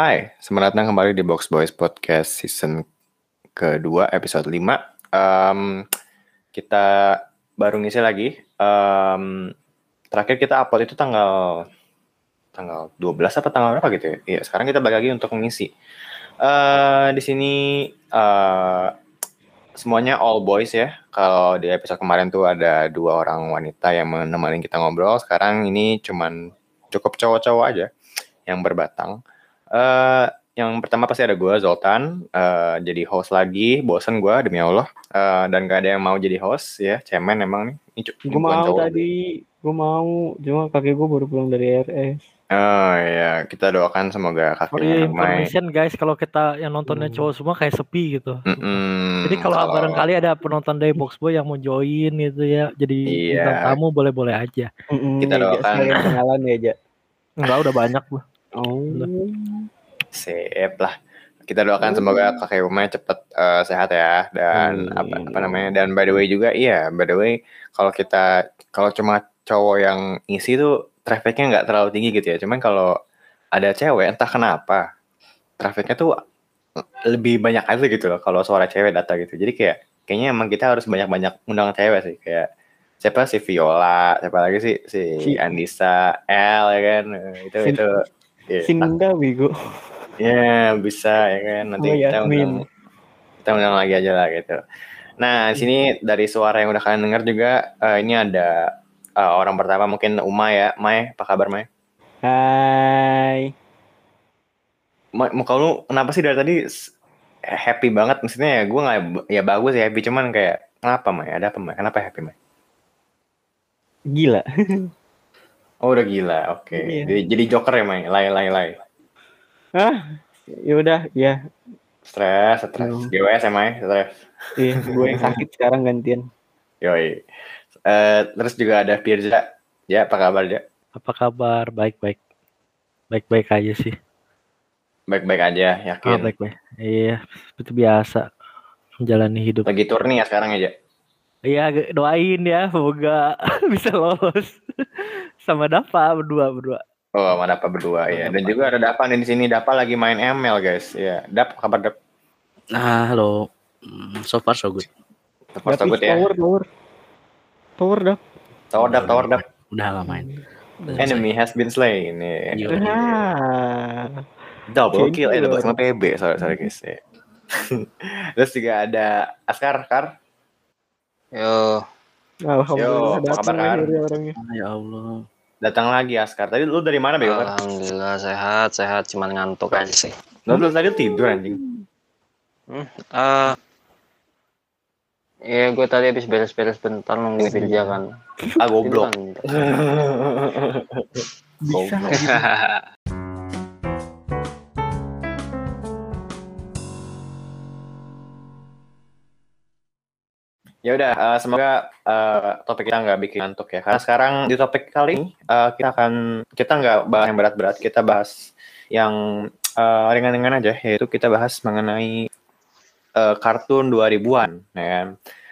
Hai, selamat datang kembali di Box Boys Podcast season kedua episode 5. Kita baru ngisi lagi. Terakhir kita upload itu tanggal 12 apa tanggal berapa gitu ya? Iya, sekarang kita balik lagi untuk mengisi. Di sini semuanya all boys ya. Kalau di episode kemarin tuh ada 2 orang wanita yang menemani kita ngobrol. Sekarang ini cuman cukup cowok-cowok aja yang berbatang. Yang pertama pasti ada gue, Zoltan, jadi host lagi. Bosen gue demi Allah, dan gak ada yang mau jadi host ya. Cemen emang nih. Gue mau tadi, gue mau, cuma kakek gue baru pulang dari RS. Oh iya, kita doakan semoga kakeknya information guys, kalau kita yang nontonnya cowok semua kayak sepi gitu. Jadi kalau barangkali ada penonton dari Box Boy yang mau join gitu ya, jadi bintang tamu boleh-boleh aja. Kita doakan. Kenalan ya aja. Enggak, udah banyak gue. Sip lah. Kita doakan semoga kakek Umay cepet sehat ya, dan apa namanya, dan by the way juga by the way kalau cuma cowok yang ngisi tuh trafficnya nggak terlalu tinggi gitu ya. Cuman kalau ada cewek entah kenapa trafficnya tuh lebih banyak aja gitu loh kalau suara cewek datang gitu. Jadi kayaknya emang kita harus banyak-banyak undang cewek sih, kayak siapa si Viola, siapa lagi sih si Andisa, L ya kan, itu Sinda bego. Ya bisa ya kan, nanti kita undang lagi aja lah gitu. Nah di sini dari suara yang udah kalian dengar juga, ini ada orang pertama mungkin Umay ya. May, apa kabar May? Hai. Muka lu kenapa sih dari tadi happy banget? Maksudnya ya gue nggak, ya bagus ya happy, cuman kayak kenapa May? Ada apa May? Kenapa happy May? Gila. Oh udah gila, oke. Jadi joker ya May, lay. Ya udah ya. Stres. GWS ya May, stres. Iya, gue yang sakit sekarang gantian. Yoi. Terus juga ada Firza. Ya, apa kabar ya? Apa kabar? Baik aja sih. Baik-baik aja, yakin. Baik. Iya, seperti biasa menjalani hidup. Lagi tour nih ya sekarang aja. Iya, doain ya, semoga bisa lolos sama Dapa berdua. Oh, sama Dapa berdua ya. Dan juga ada Dapa di sini. Dapa lagi main ML guys. Ya, Dap, kabar Dap? Halo. So far so good. So far so good ya. Tower Dap. Udah gak main. Enemy has been slain. Double kill, double sama PB. Sorry guys. Ya. Terus juga ada Askar. Yo. Alhamdulillah datang lagi orangnya. Ya Allah. Datang lagi Askar. Tadi lu dari mana Bego? Alhamdulillah sehat, cuman ngantuk aja sih. Lu tadi tidur anjing. Iya, gue tadi habis beres-beres bentar nungguin Firja kan. Goblok. Bisa. Ya udah, semoga topik kita nggak bikin ngantuk ya. Karena sekarang di topik kali ini kita nggak bahas yang berat-berat, kita bahas yang ringan-ringan aja, yaitu kita bahas mengenai kartun 2000-an, ya kan.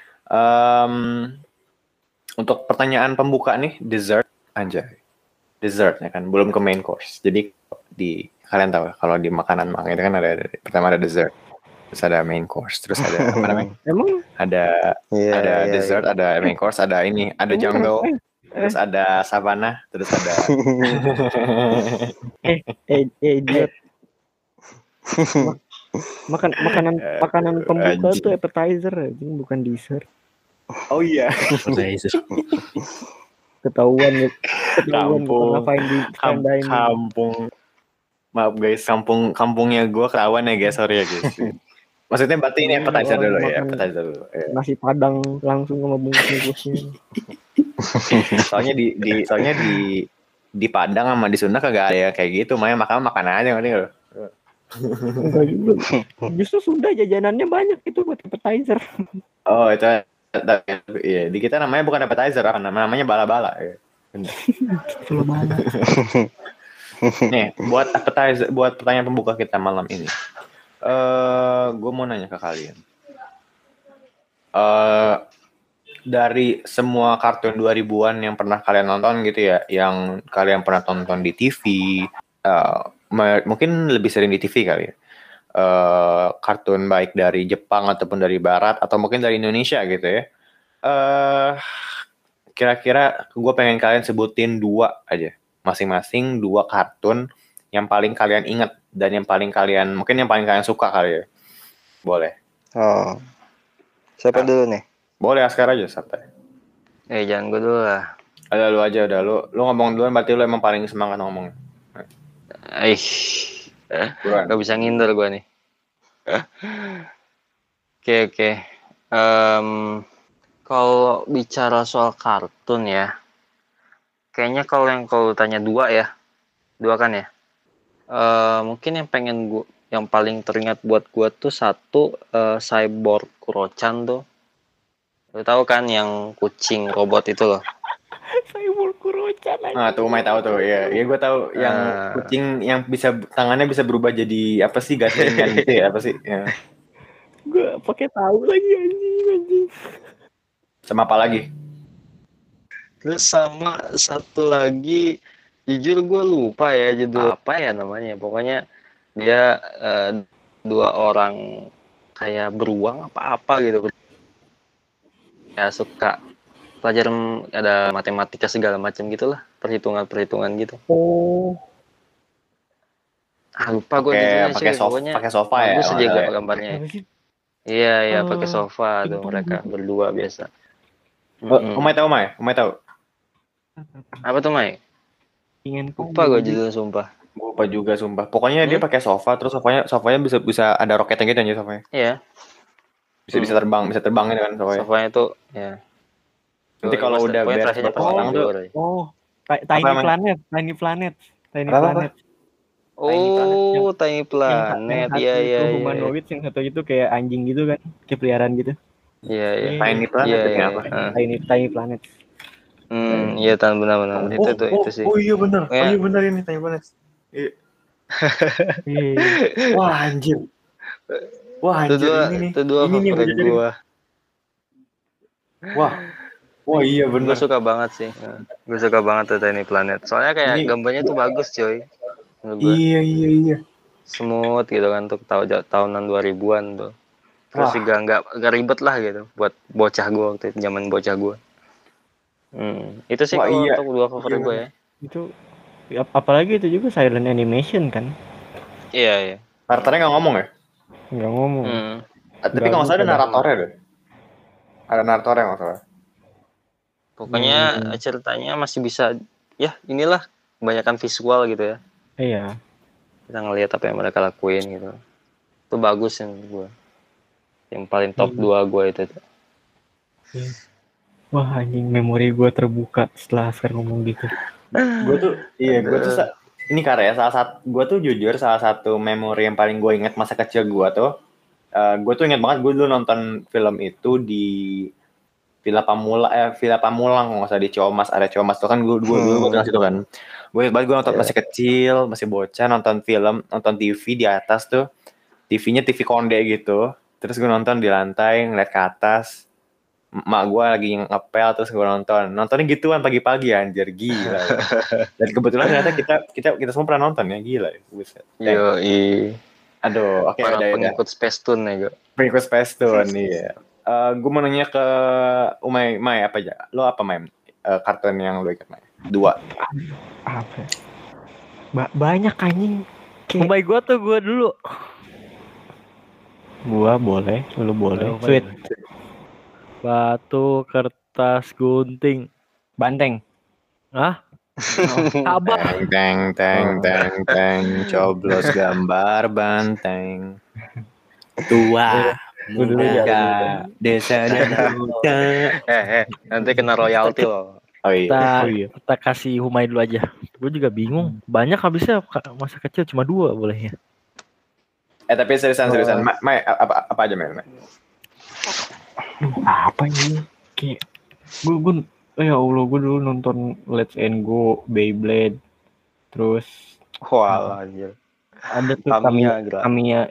Untuk pertanyaan pembuka nih, dessert ya kan, belum ke main course. Jadi kalian tahu kalau di makanan itu kan ada pertama ada dessert. Terus ada main course, terus ada apa namanya? Emang ada dessert, ada main course, ada jungle, terus ada savannah, terus ada idiot. Makanan pembuka tuh appetizer, bukan dessert. Oh iya. Appetizer. Ketahuan kampung. Maaf guys, kampungnya gue Kerawan ya guys, sorry ya guys. Maksudnya berarti ini appetizer dulu ya, appetizer dulu. Ya. Nasi Padang langsung sama bungkus-bungkusnya. soalnya di Padang sama di Sunda kagak ada ya kayak gitu, makan aja ngerti loh. Enggak juga. Justru Sunda jajanannya banyak itu buat appetizer. Oh itu ya, di kita namanya bukan appetizer, namanya bala-bala ya. Nih, buat appetizer, buat pertanyaan pembuka kita malam ini. Gue mau nanya ke kalian. Dari semua kartun 2000-an yang pernah kalian nonton gitu ya, yang kalian pernah tonton di TV, mungkin lebih sering di TV kali ya. Kartun baik dari Jepang ataupun dari Barat atau mungkin dari Indonesia gitu ya. Kira-kira gue pengen kalian sebutin 2 aja, masing-masing 2 kartun yang paling kalian ingat dan yang paling kalian suka kali ya. Boleh. Oh. Siapa dulu nih? Boleh Askar aja santai. Jangan gue dulu lah. Ada lu aja udah, lu ngomong duluan berarti lu emang paling semangat ngomong. Gak bisa nginder gue nih. Oke. Kalau bicara soal kartun ya, kayaknya kalau tanya 2 ya, 2 kan ya. Mungkin yang paling teringat buat gue tuh 1 Cyborg Kuro-chan tuh. Lu tahu kan yang kucing robot itu loh. Cyborg Kuro-chan aja. Nah, tuh Umay tahu tuh. Iya, gue tahu yang kucing yang tangannya bisa berubah jadi apa sih, gaslingan gitu ya, apa sih? Ya. Gue pakai tahu lagi anjing. Sama apa lagi? Terus sama 1 lagi, jujur gue lupa ya judul apa ya namanya. Pokoknya dia 2 orang kayak beruang apa gitu. Ya suka pelajaran, ada matematika segala macam gitulah, perhitungan gitu. Oh. Lupa gue judulnya sih. Pakai sofa ya. Bagus aja gambarnya. Iya, pakai sofa tuh mereka berdua biasa. Umay tahu. Apa tuh, Mai? Lupa gue judulnya sumpah. Lupa juga sumpah. Pokoknya dia pakai sofa, terus sofanya bisa ada roketnya gitu aja sofanya. Iya. Bisa terbang gitu kan sofanya. Sofanya tuh ya. Nanti kalau udah beres orang tuh. Tiny Planet. Oh, Tiny Planet. Iya. Humanoid, yang satu itu kayak anjing gitu kan, kayak peliharaan gitu. Iya. Tiny Planet itu apa? Tiny Planet. Iya, benar. Itu sih. Oh iya benar. Oh iya benar ini Tiny Planet. Iya. Wah anjir. Itu dua favorit gua. Wah iya benar. Gue suka banget sih. Gue suka banget tuh Tiny Planet. Soalnya kayak gambarnya tuh bagus, coy. Iya. Smooth gitu kan, untuk tahunan 2000-an tuh. Terus juga nggak ribet lah gitu buat bocah gue waktu itu, zaman bocah gue. Itu sih kalau untuk 2 favorit gue ya. Itu apalagi itu juga silent animation kan. Iya. Karakternya nggak ngomong ya? Nggak ngomong. Tapi kalau nggak salah ada naratornya deh. Ada naratornya nggak salah. Pokoknya ceritanya masih bisa, ya inilah kebanyakan visual gitu ya. Iya. Kita ngelihat apa yang mereka lakuin gitu. Itu bagus yang gue. Yang paling top 2 gue itu. Wah anjing, memori gue terbuka setelah sekarang ngomong gitu. Gue tuh ini karya gue tuh jujur salah satu memori yang paling gue ingat masa kecil gue tuh. Gue tuh ingat banget gue dulu nonton film itu di Villa Pamulang nggak usah di Ciomas, area Ciomas tuh kan gue dulu gue situ kan. Gue nonton masih kecil, masih bocah, nonton TV di atas tuh, TV-nya TV konde gitu. Terus gue nonton di lantai, ngeliat ke atas, mak gue lagi ngepel, terus gue nontonnya gituan pagi-pagi anjir, gila. Dan kebetulan ternyata kita semua pernah nonton ya, gila. Yoi. Aduh, oke. Para pengikut Space Tune ya gue. Pengikut Space Tune, iya. Gue mau nanya ke Umay apa aja? Lo apa May? Kartun yang lo ingat May? 2. Apa? Banyak anjing. Umay gue dulu. Gua boleh, lu boleh. Sweet. Batu, kertas, gunting, banteng. Hah? Abah. Teng, coblos gambar banteng. Tua. Muda desa dan huta. Nanti kena royalti loh. Oh iya. Kita kasih Humay dulu aja. Gue juga bingung. Banyak habisnya masa kecil cuma 2 boleh ya. Tapi seriusan. May, apa aja May? Apa ini? Kayak gue ya Allah, gue dulu nonton Let's and Go, Beyblade. Terus anjir. Ada tuh Tamiya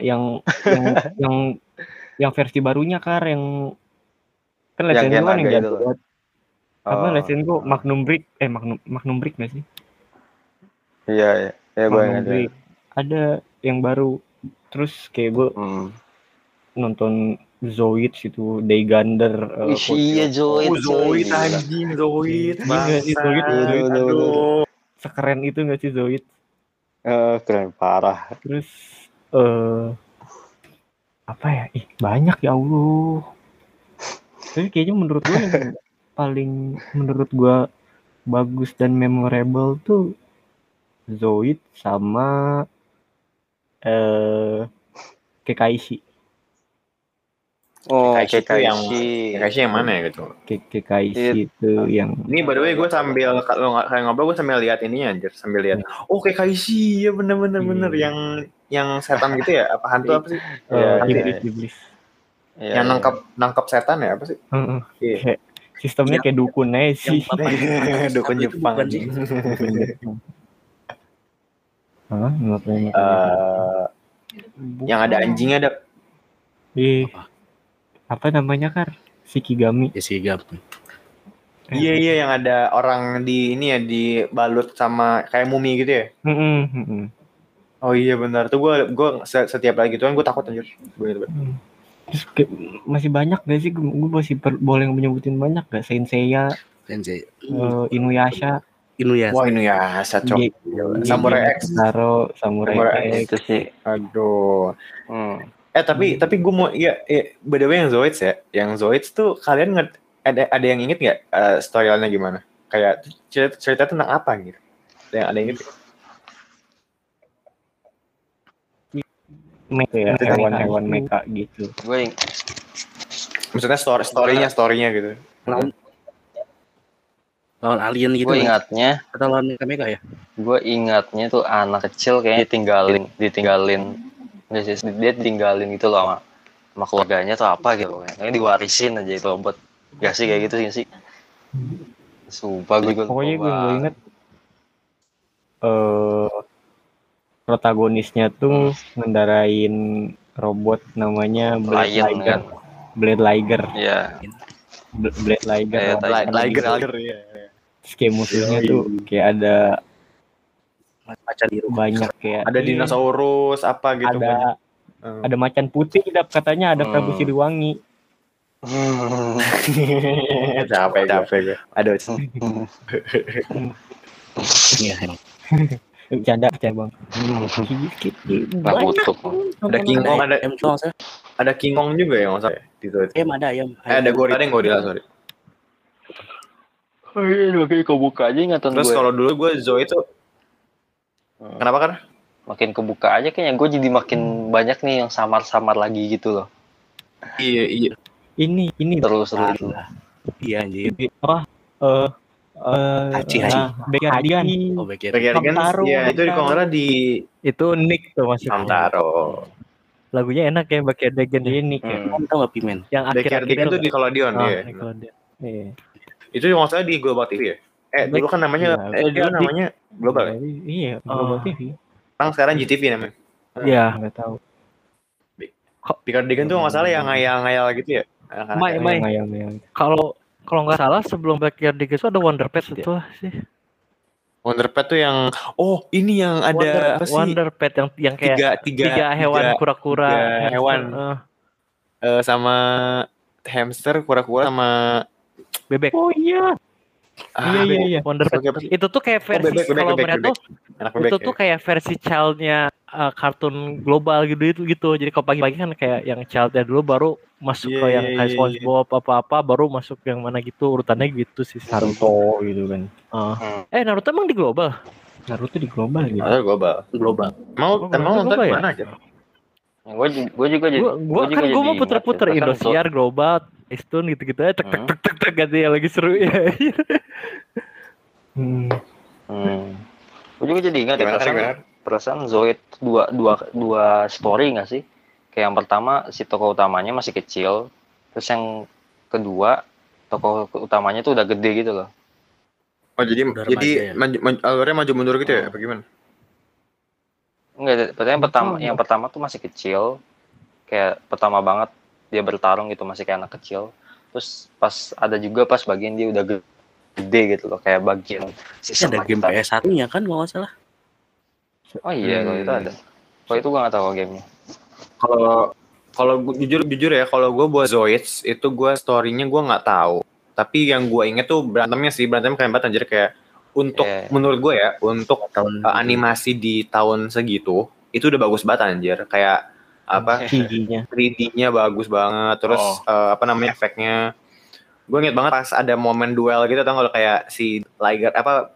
yang versi barunya yang kan Let's and Go kan yang jatuh buat apa Let's and Go Magnum Brick nggak sih? Iya gue ingat. ada yang baru. Terus kayak gue nonton Zoid itu Daygander. Iya Zoid. Zoid anjing Zoid. Zoid. Aduh. Sekeren itu nggak sih Zoid? Keren parah. Terus apa ya? Banyak ya Allah. Tapi kayaknya menurut gue yang paling menurut gue bagus dan memorable tuh Zoid sama Kekaishi. Oh, Kekaishi yang mana ya gitu? Kekaishi itu yang. Ini by the way gue sambil kalau kayak ngobrol gue sambil lihat ininya anjir, sambil lihat. Oh Kekaishi ya bener yang setan gitu ya? Apa hantu apa sih? Iblis. Yang nangkap setan ya apa sih? Kayak sistemnya kayak dukun aja sih. Dukun Jepang. Yang ada anjingnya ada. Apa namanya Kar? Shikigami. Iya yang ada orang di ini ya dibalut sama kayak mumi gitu ya. Oh iya benar tuh gue setiap lagi gituan gue takut anjir. Terus masih banyak gak sih? Gue masih boleh menyebutin banyak gak? Sensei, Inuyasha. Wah Inuyasha cok. Samurai X. Samurai X. Itu sih. Aduh. Tapi gue mau by the way yang Zoids ya. Yang Zoids tuh kalian ada yang inget nggak storyline-nya gimana? Kayak cerita tentang apa gitu? Ada yang inget? Hewan mecha gitu. Gue maksudnya story-nya gitu. Lawan alien gitu. Gue ingatnya atau lawan mecha ya? Gue ingatnya tuh anak kecil kayaknya ditinggalin. Dia ditinggalin gitu loh sama keluarganya atau apa gitu. Kayaknya diwarisin aja itu buat gak sih kayak gitu sih. Sumpah gue pokoknya gue inget protagonisnya tuh ngendarain robot namanya Blade Liger. Iya. Blade Liger. Liger ya. Terus kayak musuhnya tuh kayak ada macan biru banyak kayak ada dinosaurus apa gitu ada macan putih katanya ada Prabu Siliwangi. capek gue. Aduh. Iya. Bercanda bang. Ada King Kong, ada King Kong juga ya maksudnya di situ. Ada gorila sorry. Oh iya, makanya kebuka aja ingatan gue. Terus kalau dulu gue Zoe itu kenapa kan? Makin kebuka aja kayaknya gue jadi makin banyak nih yang samar-samar lagi gitu loh. Iya. Ini terus itu. Iya anjir. Backyardigan. Backyardigan ya itu di Kongra itu Nick tuh masih Hamtaro. Lagunya enak ya Backyardigan ini kamu tahu nggak Pimen? Yang Backyardigan itu di Nickelodeon ya. Itu yang maksudnya di Global TV ya? Dulu kan namanya Global ya? Iya, Global TV. Sekarang GTV namanya. Iya, enggak tahu. Backyardigan tuh enggak salah yang ngayal-ngayal gitu ya. Kalau nggak salah sebelum Backyardigan itu ada Wonder Pet itu sih. Wonder Pet tuh yang ini yang ada apa sih? Wonder Pet yang kayak tiga hewan kura-kura hewan sama hamster, kura-kura sama bebek. Oh iya. Iya. Wonder Pet. Itu tuh kayak versi kalau mereka tuh itu tuh kayak versi childnya kartun global gitu. Jadi kalau pagi-pagi kan kayak yang childnya dulu baru masuk ke yang kayak SpongeBob apa-apa baru masuk yang mana gitu urutannya gitu sih. Naruto gitu kan. Naruto emang di global? Naruto di global gitu. Global. Mau nonton mana aja? Gue juga jadi. Gue mau puter-puter Indosiar, Global, Stone gitu-gitu aja tek gitu ya lagi seru ya. Gue juga jadi ingat perasaan Zoid dua story nggak sih? Kayak yang pertama si tokoh utamanya masih kecil, terus yang kedua tokoh utamanya tuh udah gede gitu loh. Oh jadi alurnya maju mundur gitu ya? Apa gimana? Enggak, yang pertama tuh masih kecil, kayak pertama banget dia bertarung gitu masih kayak anak kecil. Terus pas bagian dia udah gede gitu loh, kayak bagian ada game PS1-nya kan kalau nggak salah. Oh iya, kalau itu ada. Kalau itu gue nggak tahu gamenya. Kalau jujur ya, kalau gue buat Zoids itu gue story-nya gue nggak tahu. Tapi yang gue inget tuh berantemnya keren banget anjir, kayak untuk menurut gue ya, untuk animasi di tahun segitu itu udah bagus banget anjir. Kayak apa? 3D-nya bagus banget. Terus efeknya. Gue inget banget pas ada momen duel gitu, tau kalau kayak si Liger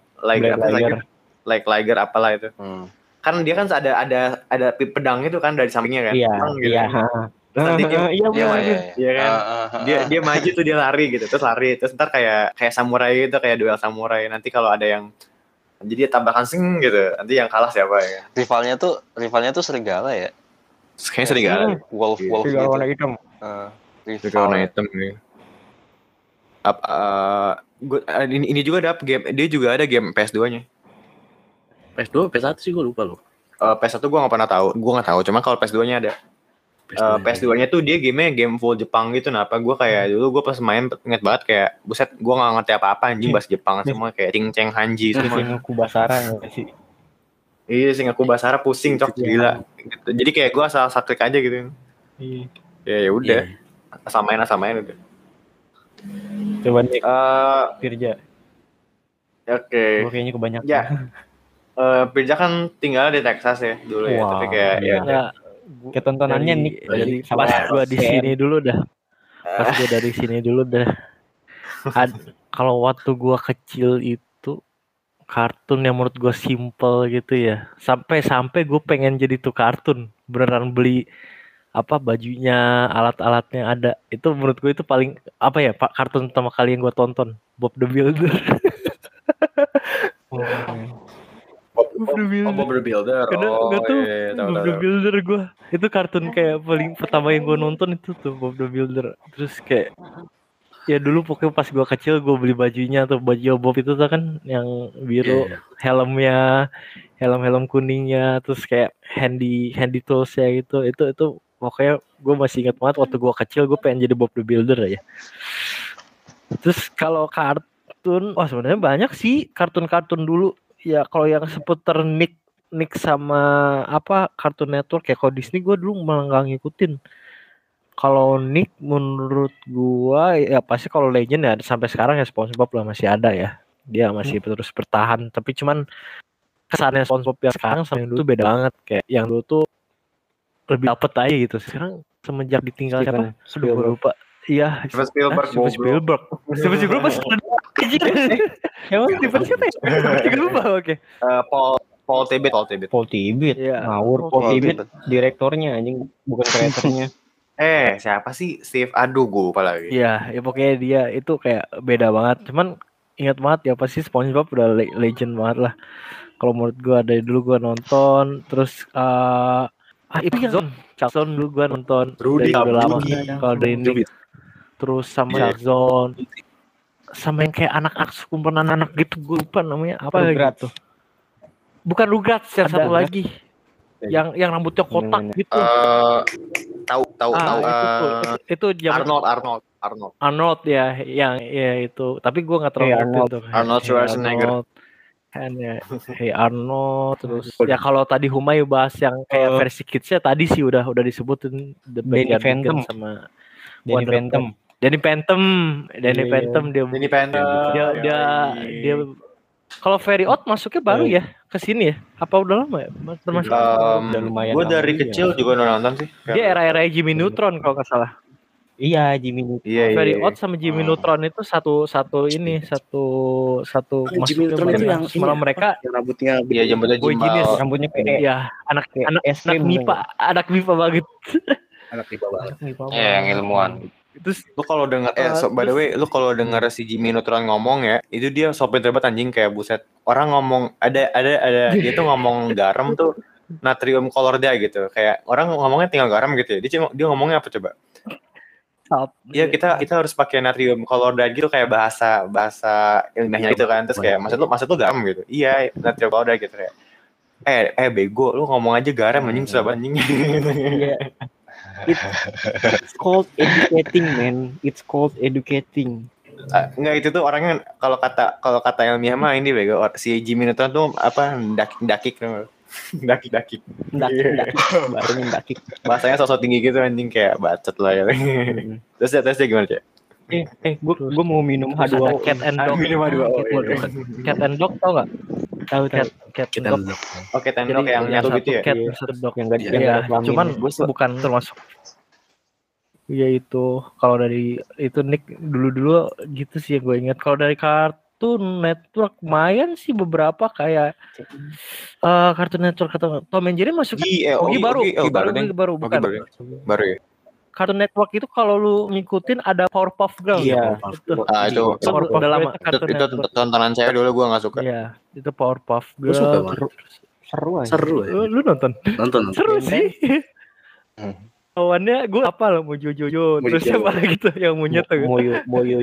apalah itu. Kan dia kan ada pedang itu kan dari sampingnya kan. Nanti dia kan dia maju tuh, dia lari gitu, terus ntar kayak samurai gitu, kayak duel samurai. Nanti kalau ada yang jadi dia tabrakan gitu, nanti yang kalah siapa ya. Rivalnya tuh serigala ya. Kayaknya serigala. Wolf gitu. Warna hitam. Warna hitam nih. Ini juga ada game, dia juga ada game PS2-nya. PS2, PS1 sih gue lupa loh. PS1 gue nggak tahu, cuma kalau PS2-nya ada. PS2-nya tuh dia game full Jepang gitu. Nah, apa gue kayak dulu gue pas main inget banget kayak buset, gue nggak ngerti apa-apa anjing, bahasa Jepang semua kayak Cing Hanji semua. Sengoku Basara nggak sih? Iya, Sengoku Basara pusing cok gila. Gitu. Jadi kayak gue asal klik aja gitu. Iya. Ya udah, samain udah. Coba nih, Firja. Oke. Gue kayaknya kebanyakan. Ya. Firja kan tinggal di Texas ya dulu ya, tapi kayak ketontonannya nih dari pas gue di sini dulu dah. Kalau waktu gue kecil itu kartun yang menurut gue simple gitu ya. Sampai gue pengen jadi tuh kartun, beneran beli bajunya, alat-alatnya ada. Itu menurut gue itu paling kartun pertama kali yang gue tonton, Bob the Builder. Bob the Builder. Bob the Builder gue. Itu kartun kayak paling pertama yang gue nonton itu tuh Bob the Builder. Terus kayak ya dulu pokoknya pas gue kecil gue beli bajunya tuh, baju Bob itu tuh kan yang biru, helm kuningnya, terus kayak handy tools ya gitu. Itu pokoknya gue masih ingat banget waktu gue kecil gue pengen jadi Bob the Builder ya. Terus kalau kartun, sebenarnya banyak sih kartun dulu. Ya kalau yang seputar Nick sama Cartoon Network ya, kalau Disney gue dulu malah nggak ngikutin. Kalau Nick menurut gue ya pasti kalau Legend ya sampai sekarang ya SpongeBob lah masih ada ya. Dia masih terus bertahan. Tapi cuman kesannya SpongeBob yang sekarang sama yang dulu beda banget. Kayak yang dulu tuh lebih dapet aja gitu. Sekarang semenjak ditinggal siapa? Sudah lupa. Iya, Spielberg. Masih emang tipe siapa ya? Lupa, oke. Paul Tibet. Iya. Ngawur, Paul Tibet direktornya anjing, bukan kreatornya. Siapa sih? Steve, aduh gue lupa lagi. Iya, ya pokoknya dia itu kayak beda banget. Cuman ingat banget ya pasti SpongeBob udah legend banget lah. Kalau menurut gue dari dulu gue nonton, terus itu Charleston dulu gue nonton. Rudy udah lama. Kalau dari ini terus sama Charleston, sama yang kayak anak-anak sekumpulan anak gitu, gue lupa namanya apa gitu. Bukan Rugrats, yang satu lagi. Yang rambutnya kotak gitu. Tahu. Itu Arnold ya, yang ya itu. Tapi gue nggak terlalu ngerti tuh. Arnold Schwarzenegger. Arnold terus ya kalau tadi Humayu bahas yang kayak versi kidsnya tadi sih udah disebutin Danny Phantom sama Danny Phantom dia kalau Very Odd masuknya baru ya ke sini ya? Apa udah lama ya? Termasuk udah lumayan. Gue dari kecil juga nonton sih. Dia era Jimmy Neutron kalau nggak salah. Iya, Jimmy Neutron. Very Odd sama Jimmy Neutron itu satu Jimmy Neutron itu yang malah mereka yang rambutnya jambutnya jimbal. Rambutnya kayak anak MIPA banget. Anak MIPA banget. Yang ilmuwan. Terus lu kalau denger by the way, lu kalau denger si Jimmy Neutron ngomong ya, itu dia sopir terbat anjing, kayak buset. Orang ngomong ada dia tuh ngomong garam tuh natrium klorida gitu. Kayak orang ngomongnya tinggal garam gitu ya. Dia ngomongnya apa coba? Ya kita harus pakai natrium klorida gitu, kayak bahasa ilmiahnya gitu kan. Terus kayak maksud lu garam gitu. Iya, natrium klorida gitu kayak. Bego, lu ngomong aja garam anjing, susah anjing. Iya. It's called educating, man. It's called educating. Enggak, itu tuh orangnya kalau kata ilmiah mah ini bego. Si Jimmy Neutron tuh apa dakik. Daki-daki. Mendaki. Bahasanya mendaki. Bahasanya sosok tinggi gitu anjing kayak bacot lah ya. Terusnya gimana, Cek? Gue mau minum Terus ada H2O. cat and dog. Minum H2O. Cat and dog tau nggak? Tahu. Cat Kita and dog. duduk. Oke, tendok yang nyatu satu gitu ya. cat, Iya. satu dog. Yang gak Iya, cuman bukan termasuk. Iya itu kalau dari itu Nick dulu gitu sih yang gue ingat. Kalau dari Cartoon Network lumayan sih beberapa kayak Cartoon Network atau Tom and Jerry masuk. Ogi baru bukan. Baru ya. Cartoon Network itu kalau lu ngikutin ada Powerpuff Girls. Iya. Itu udah lama Cartoon itu Network. tontonan saya dulu gue nggak suka. Iya, itu Powerpuff Gue Girls. suka banget. Seru aja. Seru ya. Lu nonton? Nonton. Seru sih. Lawannya gue apa lah mau Jojo terus siapa lagi tuh yang monyet tuh. Moyo.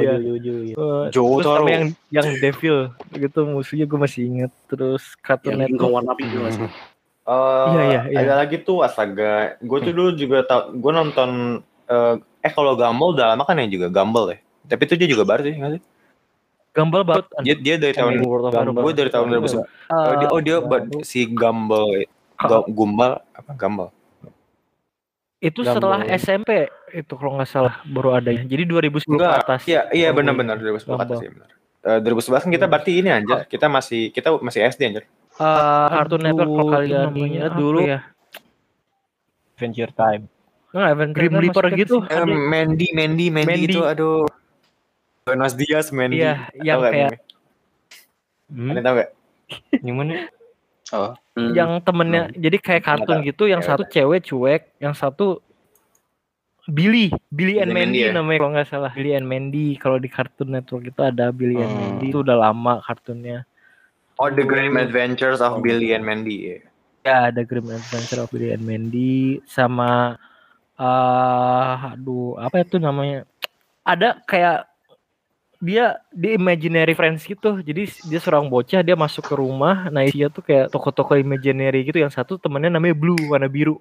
Terus sama yang Devil gitu musuhnya gue masih inget. Terus Cartoon Yang Network. warna biru masih. Iya. Ada lagi tuh astaga. Gue tuh dulu juga gue nonton kalau Gumball udah lama kan ya juga Gumball ya. Tapi itu dia juga baru sih nggak sih? Gumball baru. Dia dari tahun gue dari tahun 2011. Dia si Gumball Gumball. Itu setelah SMP itu kalau nggak salah baru adanya. Jadi 2010 ke atas. Iya benar 2010 ke atas sih benar. 2011 kan kita berarti ini anjir. Kita masih SD anjir. Cartoon Network kalau kalian ingat dulu ya. Adventure Time. Grim Reaper gitu. Mandy itu aduh. Buenos Dias Mandy. Iya, yang kayak Kalian tahu nggak? Yang mana? Yang temennya jadi kayak kartun gitu, yang satu cewek cuek, yang satu Billy and Mandy namanya kalau nggak salah. Billy and Mandy kalau di Cartoon Network itu ada Billy and Mandy, itu udah lama kartunnya. The Grim Adventures of Billy and Mandy. Ya, ada Grim Adventures of Billy and Mandy sama apa itu namanya? Ada kayak dia di imaginary friends gitu. Jadi dia seorang bocah, dia masuk ke rumah, nah isinya tuh kayak toko-toko imaginary gitu. Yang satu temennya namanya Blue, warna biru.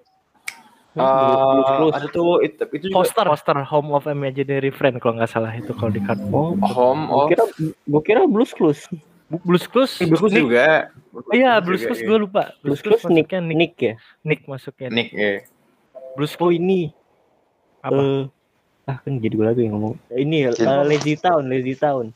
Ada tuh itu poster Home of Imaginary Friend kalau nggak salah itu kalau di kartu. Gue kira Blues Clues. Blues Clues juga. Iya, Blues Clues gue lupa. Blues Clues Nick ya. Nick masuknya. Nick ya. Blues Clues ini apa? Kan jadi gue lagi yang ngomong. Ini Lazy Town. Lazy Town.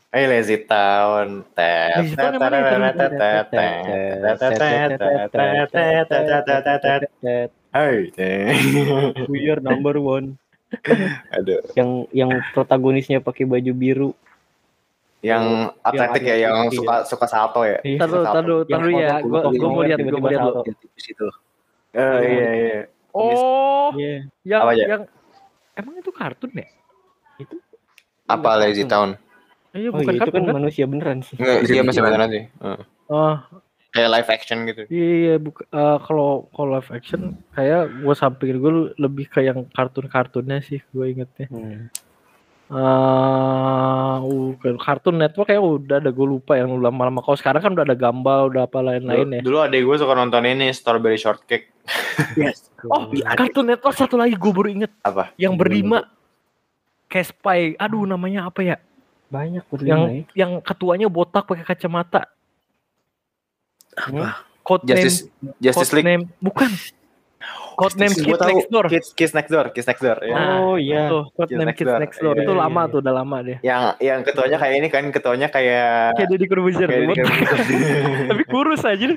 We are number one. Aduh. Yang protagonisnya pakai baju biru. Yang atletik ya, yang suka salto ya. Taruh ya. Gue mau lihat di situ. Iya. Yang emang itu kartun ya? Itu apa Lazy Town? Iya, bukan itu kartun kan manusia beneran sih. Dia masih beneran sih. Kayak live action gitu. Iya, kalau live action kayak gue samping gue lebih ke yang kartun-kartunnya sih gue ingetnya. Cartoon Network kayak udah ada, gue lupa yang lama-lama. Kalau sekarang kan udah ada Gumball, udah apa lain-lain ya. Dulu adek gue suka nonton ini Strawberry Shortcake. Yes. Cartoon Network satu lagi gue baru inget. Apa? Yang berlima. Kayak Spy. Aduh, namanya apa ya? Banyak berlima. Yang ketuanya botak pakai kacamata. Apa? Justice League. Bukan. Codename Kids Next Door. Ya. Oh iya. Codename Kids Next Door. Itu lama tuh, udah lama deh. Yang ketuanya kayak ini kan, kayak Deddy Corbuzier. Tapi kurus aja.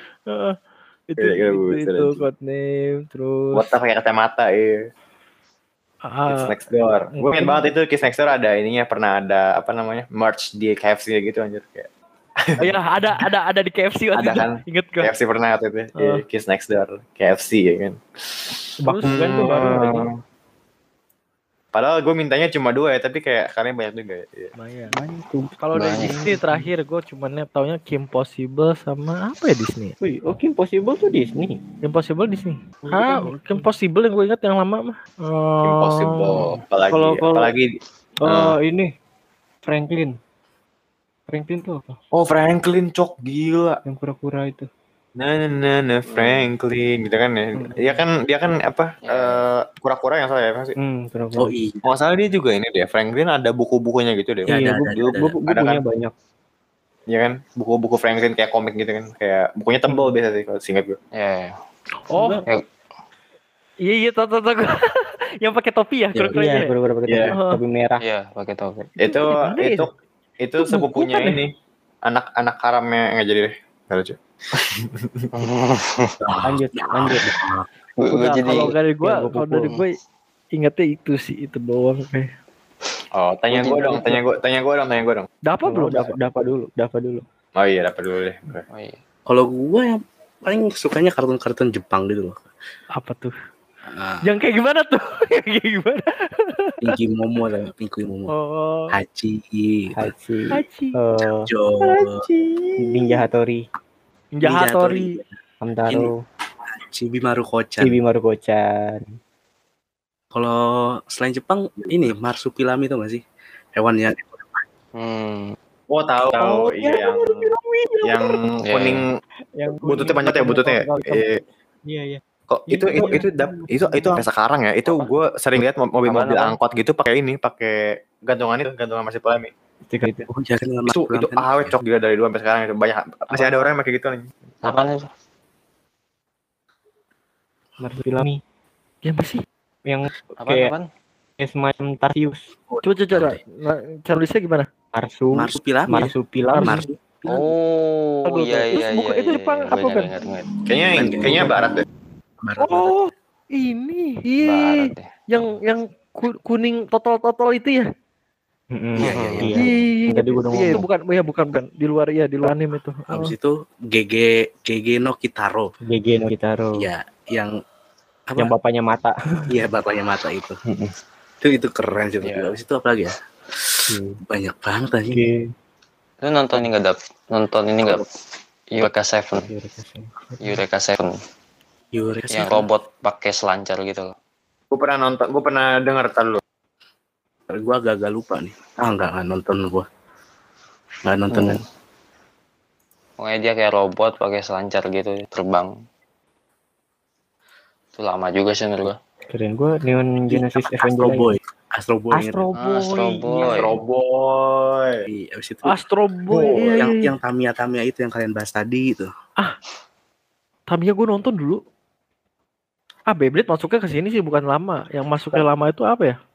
Itu codename, terus botak pakai kacamata ya. Kids Next Door. Gue ingat banget itu Kids Next Door ada ininya, pernah ada apa namanya? Merch di KFC gitu anjir kayak. Iya, ada di KFC waktu itu. Kan? Ingat gue. KFC pernah waktu itu. Kids Next Door, KFC ya kan. Bakugan tuh baru lagi. Padahal gue mintanya cuma 2 ya, tapi kayak kalian banyak juga ya. Banyak. Kalau dari Disney terakhir gue cuma taunya Kim Possible sama apa ya Disney? Kim Possible tuh Disney. Kim Possible Disney. Kim Possible yang gue ingat yang lama mah. Kim Possible. Apalagi ini Franklin tuh apa? Franklin cok gila. Yang kura-kura itu. Nah Franklin gitu kan ya. Dia kan apa kura-kura yang salah ya pasti. Kura-kura. Iya. Masalah dia juga ini deh. Franklin ada buku-bukunya gitu deh. Iya, bukunya banyak. ya kan? Buku-buku Franklin kayak komik gitu kan. Kayak bukunya tebal biasa sih kalau singkat gue. Ya. Oh, iya tahu. Yang pakai topi ya, kru-krunya. Iya, bener-bener pakai topi merah. Iya, pakai topi. Itu sepupunya ini. Anak karamnya nggak jadi deh. Nggak lucu. Lanjut. Udah, kalau dari gue ingatnya itu sih, itu doang kayak. Oh, tanya gue dong. Dapat belum? Dapat dulu. Oh iya, dapat dulu deh. Oh iya. Kalau gue yang paling sukanya kartun-kartun Jepang gitu loh. Apa tuh? Yang kayak gimana tuh? Pinky Momo. Oh. Hachi. Jo. Ninja Hattori. Hamtaro. Chibi Maruko-chan. Kalau selain Jepang ini Marsupilami itu nggak sih? Hewannya. Oh tahu. Iya yang kuning. Yang buntutnya banyak ya bututnya. Iya. Kok itu sampai sekarang ya. Itu gue sering lihat mobil-mobil angkot gitu pakai gantungan Marsupilami. Oh, jangan itu awet cok juga dari dulu sampai sekarang itu banyak masih ada orang yang pakai gitu nih. Apaan itu? Marsupilami. Ya masih. Yang Apaan? semacam Tarsius. Coba. Tulisnya gimana? Marsupilami. Oh, iya. Itu Jepang apa kan? Kayaknya barat deh. Oh, ini. Iya. Yang kuning totol itu ya. Iya. Tadi gue udah ngomong. Itu bukan di luar anime itu. Habis itu GG no Kitaro. Iya, yang bapaknya mata. Iya, bapaknya mata itu. Itu keren sih. Habis itu apa lagi ya? Banyak banget aja. Lu nonton ini enggak? Eureka 7. Yang robot pakai selancar gitu loh. Gue pernah dengar dulu. Gue agak lupa nih. Enggak nonton gue. Enggak nonton kan. Pokoknya dia kayak robot pakai selancar gitu, terbang. Itu lama juga sih menurut gue. Keren gue Neon Genesis Astro Boy. Astro Boy. Abis itu Astro Boy. Yang Tamiya itu yang kalian bahas tadi itu. Tamiya gue nonton dulu. Beyblade masuknya ke sini sih bukan lama. Yang masuknya lama itu apa ya?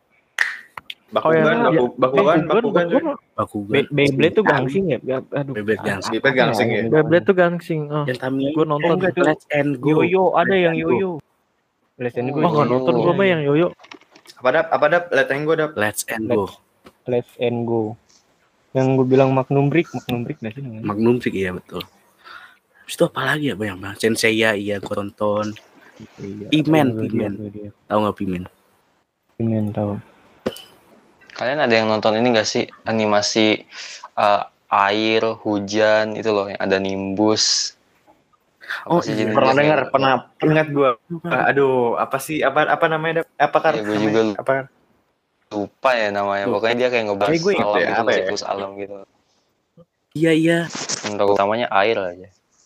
Bakugan. Beyblade tuh gangsing ya? Aduh. Beyblade gangsing. Yang Tamiya gue nonton Let's and Go. Yoyo ada yang Yoyo. Let's and Go. Nggak nonton gue mah yang Yoyo. Apa dap? Let's and Go. Yang gue bilang Magnum Brick nggak sih? Magnum Brick iya betul. Terus itu apa lagi ya banyak banget. Senseiya iya gue tonton. Pimen. Tahu nggak Pimen? Pimen tahu. Kalian ada yang nonton ini nggak sih animasi air hujan itu loh yang ada Nimbus? Pernah dengar, pernah ingat gue. Aduh, apa sih? Apa namanya? Apa gue juga lupa ya namanya. Pokoknya dia kayak ngebahas alam gitu, siklus alam gitu. Iya. Untuk utamanya air aja.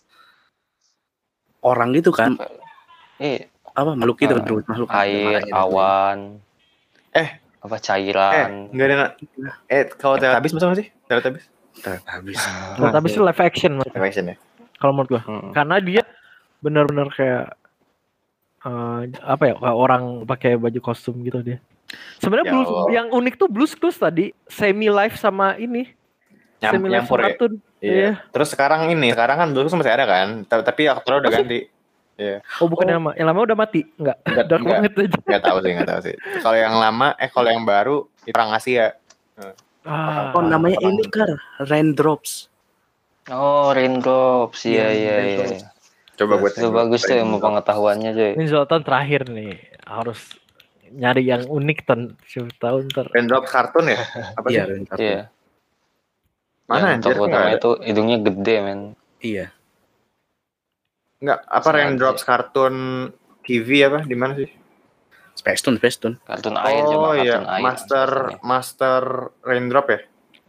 Orang gitu kan? Apa makhluk itu makhluk air, awan. Apa cairan? Enggak ada. Kalau Teletubbies masuk nggak sih? Teletubbies itu live action ya. Kalau menurut gua. Karena dia benar-benar kayak kayak orang pakai baju kostum gitu dia. Sebenarnya yang unik tuh Blues Clues tadi semi live sama ini. Semi live kartun. Iya. Terus sekarang kan Blues Clues masih ada kan? Tapi aktornya udah ganti. Iya. Oh bukan yang lama udah mati? Enggak Enggak tahu sih. Kalau yang lama kalau yang baru orang Asia. Namanya ini Raindrops. Oh, Raindrops. Iya. Coba buat itu bagus tuh ilmu pengetahuannya, coy. Ini Zoltan terakhir nih. Harus nyari yang unik tahun ntar. Raindrops kartun ya? Apa sih? Iya. Mana anjir? Tokoh itu hidungnya gede, men. Iya. Enggak, apa Raindrops kartun TV apa? Di mana sih? Space Tune. Kartun air coba iya. Air. Master Raindrop ya?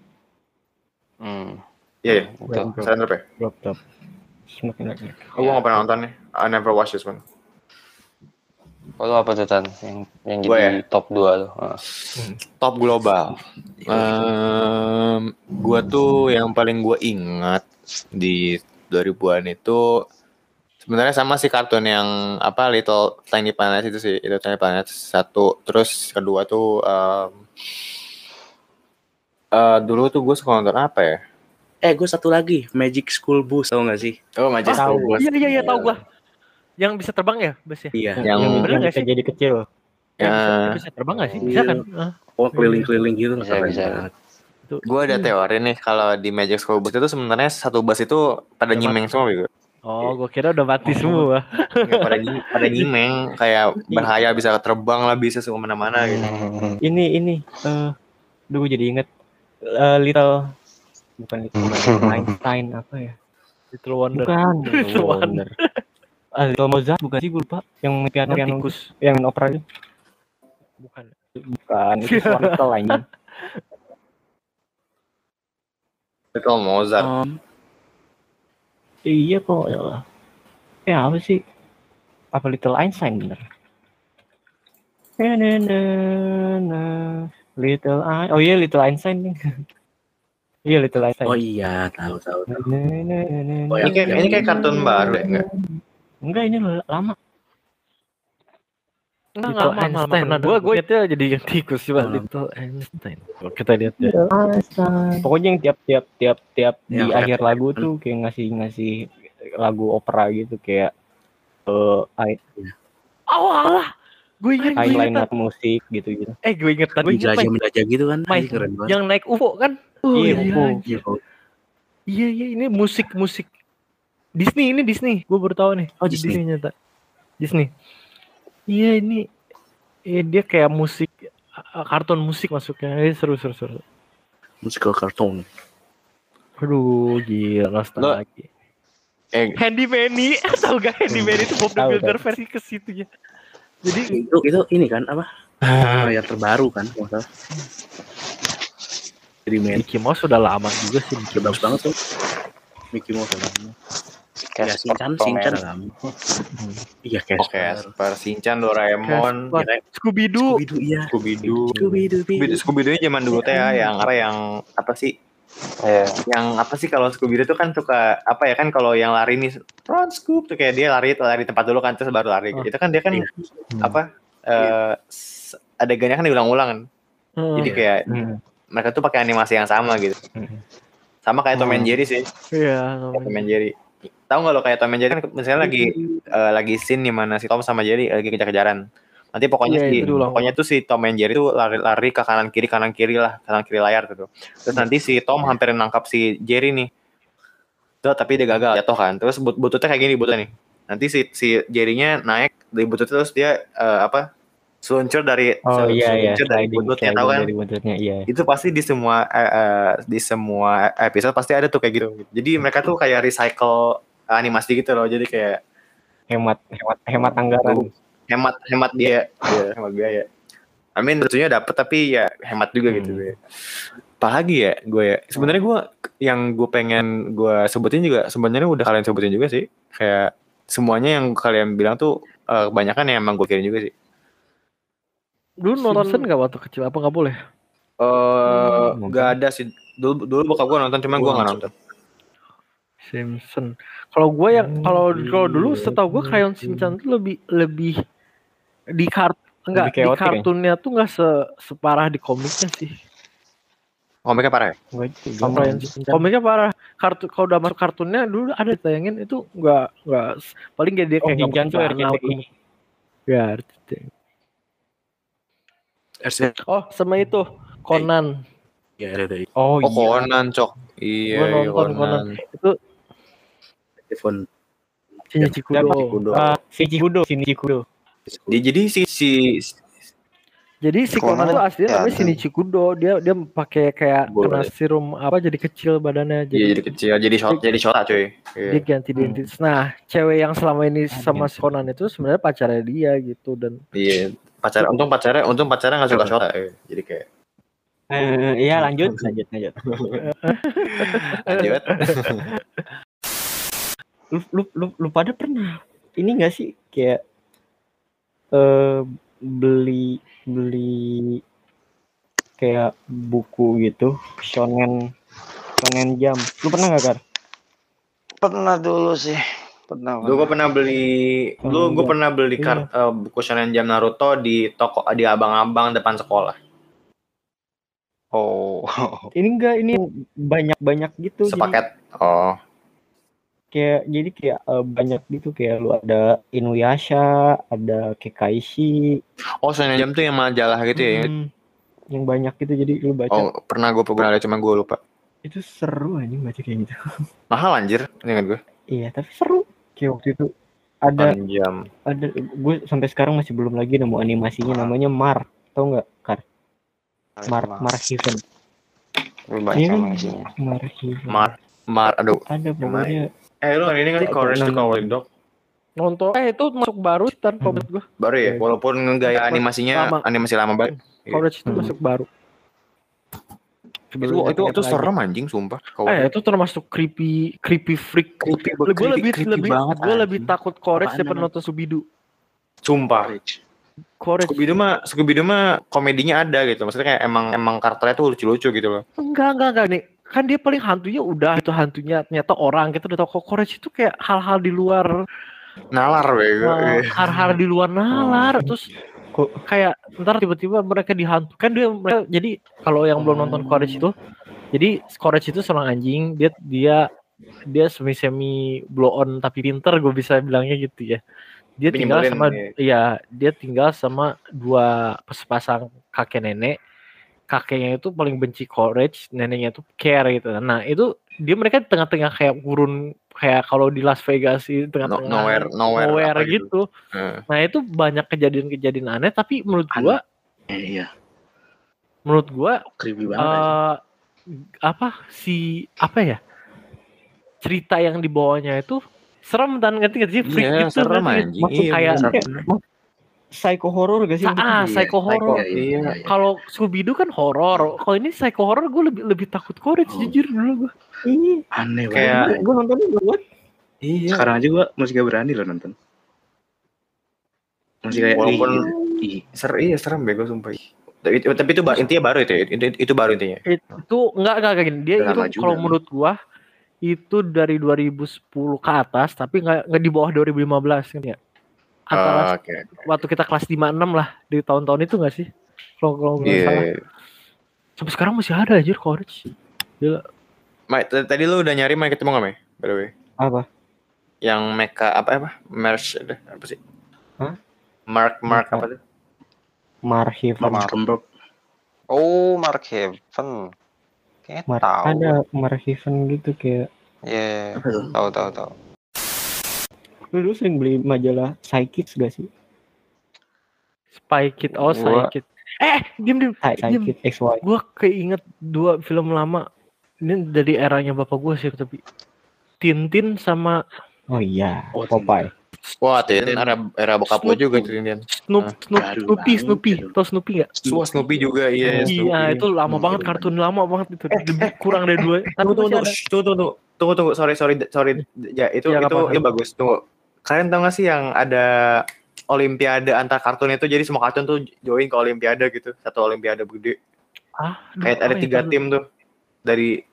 Iya. Raindrop ya? Drop. Gue gak pernah nonton nih. I never watch this one. Kalau apa tuh Tan yang Gua jadi top 2 tuh? Top global. Gua tuh yang paling gua ingat di 2000-an itu sebenarnya sama sih kartun yang apa Little Tiny Planet itu sih. Itu Tiny Planet 1. Terus kedua tuh dulu tuh gue suka nonton apa ya? Gue satu lagi, Magic School Bus, tau gak sih? Oh, Magic School Bus. Iya tahu gua. Yang bisa terbang ya, busnya? Iya. Yang bisa jadi kecil. Bisa terbang nggak sih? Bisa kan? Oh, keliling-keliling gitu. Bisa. Gue ada teori nih kalau di Magic School Bus itu sebenarnya satu bus itu pada nyimeng semua gitu. Oh, gue kira udah mati semua. Pada nyimeng, kayak berhayal bisa terbang lah, bisa kemana-mana gitu. Ini gue jadi inget Little Einstein apa ya? Little Wonder. Bukan. Little Wonder. Little Mozart bukan sih, gue lupa. Yang piano tikus, yang opera itu. Bukan. Itu Swantel anjing. Little Mozart. Iya kok. Apa sih? Apa Little Einstein bener? Little Einstein. Oh iya, Little Einstein nih. Iya, Little Einstein. Oh iya, tahu. Ini kayak kartun baru ya, enggak? Enggak, ini lama. Little Einstein. Gue itu jadi yang tikus coba Little Einstein. Kita lihat ya. Pokoknya yang tiap di Yang akhir lagu tuh kayak ngasih lagu opera gitu kayak Alah. Gue inget highlight musik gitu. Gue inget tadi. Menjajah gitu kan. Keren banget. Yang naik UFO kan? Iya. Iya, ini musik Disney, ini Disney. Gue baru tahu nih. Oh, Disney nyata. Disney. Iya, ini dia kayak musik kartun musik masuknya. Seru. Musical kartun. Aduh, gila nostalgia. Handy Manny, tahu gak Handy Manny itu Bob the Builder versi ke situ ya. Jadi itu ini kan apa? Yang terbaru kan, masalah. Jadi Mickey Mouse sudah lama juga sih. Mickey Mouse banget tuh. Mickey Mouse lama. Ya, Shinchan lama. Iya, Casper, Shinchan, Doraemon, Scooby-Doo. Scooby-Doo zaman dulu teh ya, yang apa sih? Yang apa sih kalau Scooby-Doo itu kan suka apa ya kan kalau yang lari nih Run Scoop tuh kayak dia lari tempat dulu kan terus baru lari. Itu kan dia kan adegannya kan diulang-ulang kan. Jadi kayak mereka tuh pakai animasi yang sama gitu. Sama kayak Tom and Jerry sih. Iya, Tom and Jerry. Tahu nggak lo kayak Tom and Jerry kan misalnya lagi scene di mana si Tom sama Jerry lagi kejar-kejaran. Nanti pokoknya tuh si Tom and Jerry tuh lari ke kanan kiri layar gitu. Terus nanti si Tom hampir nangkap si Jerry nih. Tuh tapi dia gagal jatuh kan. Terus bututnya kayak gini bututnya nih. Nanti si Jerry-nya naik dari butut terus dia seluncur dari bututnya tahu kan? Iya. Itu pasti di semua episode pasti ada tuh kayak gitu. Jadi mereka tuh kayak recycle animasi gitu loh. Jadi kayak hemat anggaran. Hemat dia, hemat biaya. I mean lucunya dapet tapi ya hemat juga gitu ya. Apalagi ya gue ya. Sebenarnya gue yang gue pengen gue sebutin juga sebenarnya udah kalian sebutin juga sih. Kayak semuanya yang kalian bilang tuh kebanyakan yang emang gue kirim juga sih. Dulu nonton nggak waktu kecil? Apa nggak boleh? Nggak ada sih. Dulu bokap gue nonton, cuman gue nggak nonton. Simpson. Kalau gue yang kalau dulu setahu gue Crayon Shinchan tuh lebih di kartunnya tuh nggak separah di komiknya sih. Komiknya parah ya? Komiknya parah. Kalau udah masuk kartunnya dulu ada tayangin itu nggak paling dia kayak Shinchan tuh RCTI. Ya RCTI. Oh sama itu Conan. Ya RCTI. Oh Conan cok. Iya Conan. Itu Shinichikudo. Jadi si Conan itu aslinya namanya Shinichikudo. Dia pakai kayak kena serum apa jadi kecil badannya. Jadi kecil, jadi shota cuy. Dia ganti identitas. Nah, cewek yang selama ini sama si Conan itu sebenarnya pacarnya dia gitu dan. Iya, untung pacarnya nggak suka shota. Jadi kayak. Iya lanjut. Lu pada pernah ini nggak sih kayak beli kayak buku gitu, Shonen Jump. Lu pernah nggak, Kar? Pernah dulu sih. Pernah. Dulu gue pernah beli buku Shonen Jump Naruto di toko di abang-abang depan sekolah. Oh. Ini banyak gitu. Sepaket. Jadi kayak banyak gitu, kayak lu ada Inuyasha, ada Kekaishi. Oh, Shonen Jump tuh yang majalah gitu ya? Yang banyak gitu, jadi lu baca. Oh, pernah gue ada, cuma gue lupa. Itu seru anjing baca kayak gitu. Mahal anjir, ingat gue. Iya, tapi seru. Kayak waktu itu ada gue sampai sekarang masih belum lagi nemu animasinya, namanya Mar. Tau nggak, Kar? Mar Heaven. Mar, aduh. Ada pokoknya. Lu ini nggak sih Courage to Cowardly Dog? Nonton. Itu masuk baru kan komik gue. Baru ya, walaupun gaya animasinya animasi lama banget. Courage itu masuk baru. Itu serem anjing, sumpah. Itu termasuk creepy freak. Gue lebih takut Courage daripada nonton Scooby-Doo. Sumpah. Scooby-Doo mah komedinya ada gitu. Maksudnya kayak emang karakternya tuh lucu-lucu gitu loh. Enggak nih. Kan dia paling hantunya udah itu hantunya ternyata orang gitu. Udah tau Courage itu kayak hal-hal di luar nalar bego. Hal-hal di luar nalar. Terus kayak ntar tiba-tiba mereka dihantu. Kan mereka jadi kalau yang belum nonton Courage itu, jadi Courage itu seorang anjing. Dia semi blow on tapi pinter, gue bisa bilangnya gitu ya. Dia tinggal sama dua sepasang kakek nenek. Kakeknya itu paling benci Courage, neneknya itu Care gitu. Nah itu mereka di tengah-tengah kayak gurun, kayak kalau di Las Vegas itu tengah-tengah nowhere gitu. Nah itu banyak kejadian-kejadian aneh, tapi menurut gua creepy banget. Cerita yang dibawanya itu serem dan ngerti freak gitu. Serem anjing. Kayak psycho horror gak sih? Psycho horror. Iya. Kalau Scooby-Doo kan horror. Kalau ini psycho horror, gue lebih takut Courage jujur dulu gue. Aneh banget. Gue nontonnya buat. Iya. Sekarang aja gue masih gak berani loh nonton. Masih kayak serem bego sumpah. Tapi itu intinya baru itu. Itu baru intinya. Itu enggak gini. Dia itu kalau menurut gue itu dari 2010 ke atas, tapi enggak di bawah 2015 kan ya. Antara waktu kita kelas 5-6 lah di tahun-tahun itu nggak sih? Kalau nggak salah. Sampai sekarang masih ada aja Courage. Gila. Tadi lu udah nyari main ketemu nggak, Mai? By the way. Apa? Yang mecha apa? Merch apa sih? Hah? Mark apa tuh? Mark Heaven. Oh, Mark Heaven. Kayak tahu. Ada Mark Heaven gitu kayak. Iya, tahu. Lu sering beli majalah Psychics gak sih? Spy Kid, Psychic. Diam. Psychic XY. Gue keinget 2 film lama. Ini dari eranya bapak gue sih, tapi Tintin sama Popeye. Wah, Tintin era bokap gue juga Tintin. Snoopy. Tau Snoopy gak? Snoopy juga, iya. Iya, itu lama banget, kartun lama banget itu. Kurang dari 2. Tunggu. Sorry. Ya, itu bagus. Tunggu. Kalian tau gak sih yang ada olimpiade antar kartun itu, jadi semua kartun tuh join ke olimpiade gitu, satu olimpiade gede. Kayak ada 3 tim tuh dari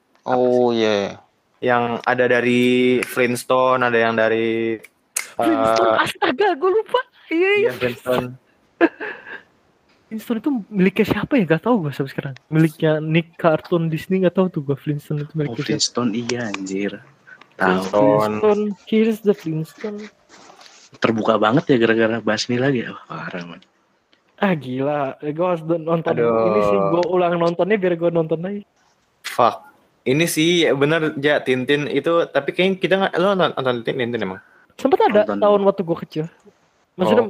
yang ada dari Flintstone, ada yang dari Flintstone, astaga gue lupa. Iya Flintstone. Flintstone itu miliknya siapa ya? Gak tau gue sampai sekarang. Miliknya Nick Cartoon Disney, gak tau tuh gue Flintstone itu miliknya Flintstone iya anjir. Flintstone, here's the Flintstone. Terbuka banget ya gara-gara bahas ini lagi ya. Parah man. Gila, gue harus nonton. Ini sih gue ulang nontonnya biar gue nonton lagi. Fuck. Ini sih bener ya Tintin itu, tapi kayaknya kita nggak, lo nonton Tintin emang? Sempat ada tahun waktu gue kecil. Maksudnya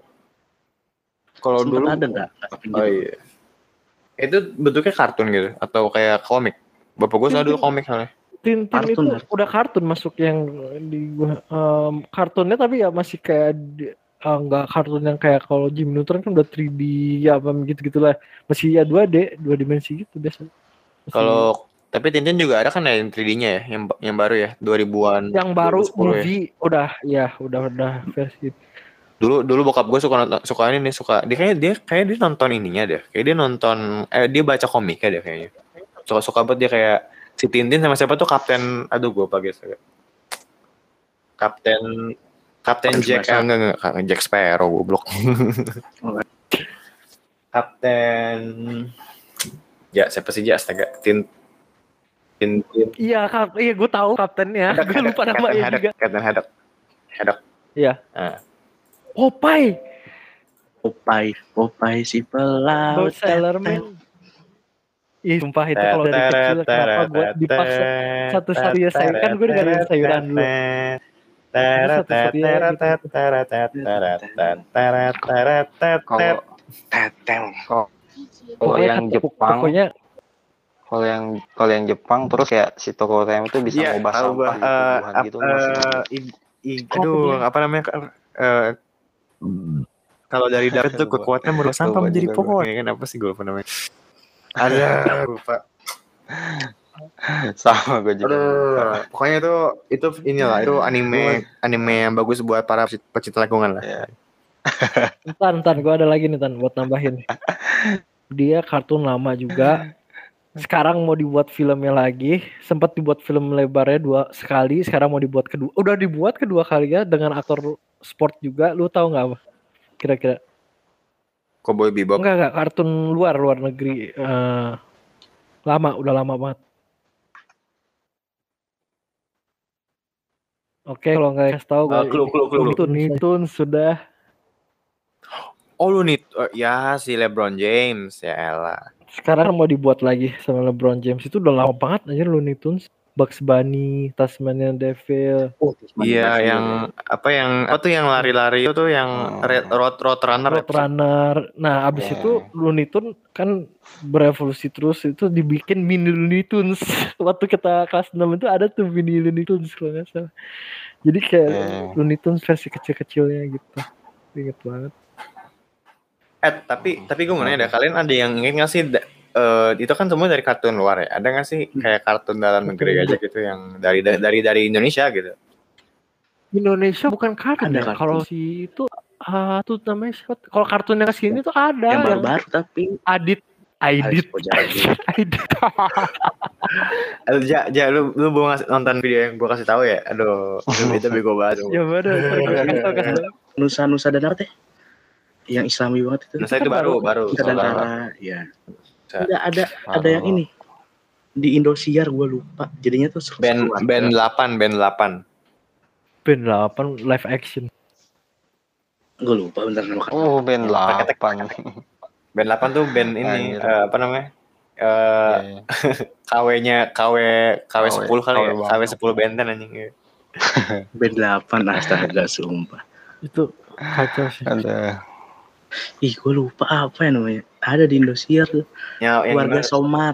kalau dulu ada nggak? Iya. Itu bentuknya kartun gitu atau kayak komik? Bapak gue selalu dulu komik soalnya. Tintin itu udah kartun masuk yang di kartunnya, tapi ya masih kayak nggak kartun yang kayak kalau Jimmy Neutron kan udah 3D ya apa gitu-gitulah, masih ya 2D 2 dimensi gitu biasa. Kalau tapi Tintin juga ada kan ya yang 3D-nya ya, yang baru ya 2000-an. Yang baru movie ya. udah versi. Dulu bokap gue suka ini nih, dia kayak dia nonton ininya deh. Kayak dia nonton dia baca komiknya deh kayaknya. Suka banget dia kayak si Tintin sama siapa tuh Kapten, aduh gue apa guys. Kapten Jack, enggak Jack Sparrow goblok. Kapten ya siapa sih astaga Tintin. Iya, gue tahu kaptennya. Gue lupa namanya juga. Kapten Haddock. Iya. Popeye si pelaut Sailorman. Ih, sumpah itu kalau dari kecil kenapa gue dipaksa satu-satunya sayur kan gue dengerin sayuran dulu. Kalau yang Jepang, kalau yang Jepang terus kayak si Tokotem itu bisa ngubah sampah gitu. Aduh, apa namanya? Kalau dari darat tuh kekuatan merubah sampah menjadi pohon. Ya kan apa sih gue lupa namanya? Ada lupa. Sama gue juga. Pokoknya itu inilah itu anime yang bagus buat para pecinta lingkungan lah. Ya. Ntar gue ada lagi nih buat nambahin. Dia kartun lama juga. Sekarang mau dibuat filmnya lagi. Sempat dibuat film lebarnya 2 sekali. Sekarang mau dibuat kedua. Udah dibuat kedua kali ya dengan aktor sport juga. Lu tahu nggak apa? Kira-kira? Cowboy Bebop. Enggak kartun luar negeri. Udah lama banget. Oke, kalau nggak kasih tahu Looney Tunes sudah. Oh Looney ya si LeBron James ya elah. Sekarang mau dibuat lagi sama LeBron James, itu udah lama banget aja Looney Tunes. Bugs Bunny, Tasmanian Devil. Iya yang yang lari-lari itu yang road runner. Nah abis itu Looney Tunes kan berevolusi terus, itu dibikin mini Looney Tunes. Waktu kita kelas 6 itu ada tuh mini Looney Tunes kalau nggak salah. Jadi kayak Looney Tunes versi kecil-kecilnya gitu. Ingat banget. Tapi gue mau nanya, kalian ada yang ingat nggak sih? Itu kan semua dari kartun luar ya. Ada nggak sih kayak kartun dalam negeri aja gitu yang dari Indonesia gitu? Indonesia bukan kartun ya. Kalau si itu tuh namanya siapa? Kalau kartunnya kesini tuh ada yang baru-baru tapi Adit. Aduh, lu mau nonton video yang gue kasih tahu ya? Aduh, itu bego banget. Ya bener. Nusa dan apa teh? Yang Islami banget itu. Nusa itu baru. Ya. Enggak ada yang ini. Di Indosiar gue lupa. Jadinya tuh band 8 live action. Gue lupa bentar nama. Oh, band 8. Band 8 tuh band ini apa namanya? KW 10 kali ya. KW 10 benten anjing. Band 8 astaga sumpah. Itu kacau sih. Ada. Ih, gue lupa apa ya namanya. Ada di Indosiar tuh. Keluarga Somat.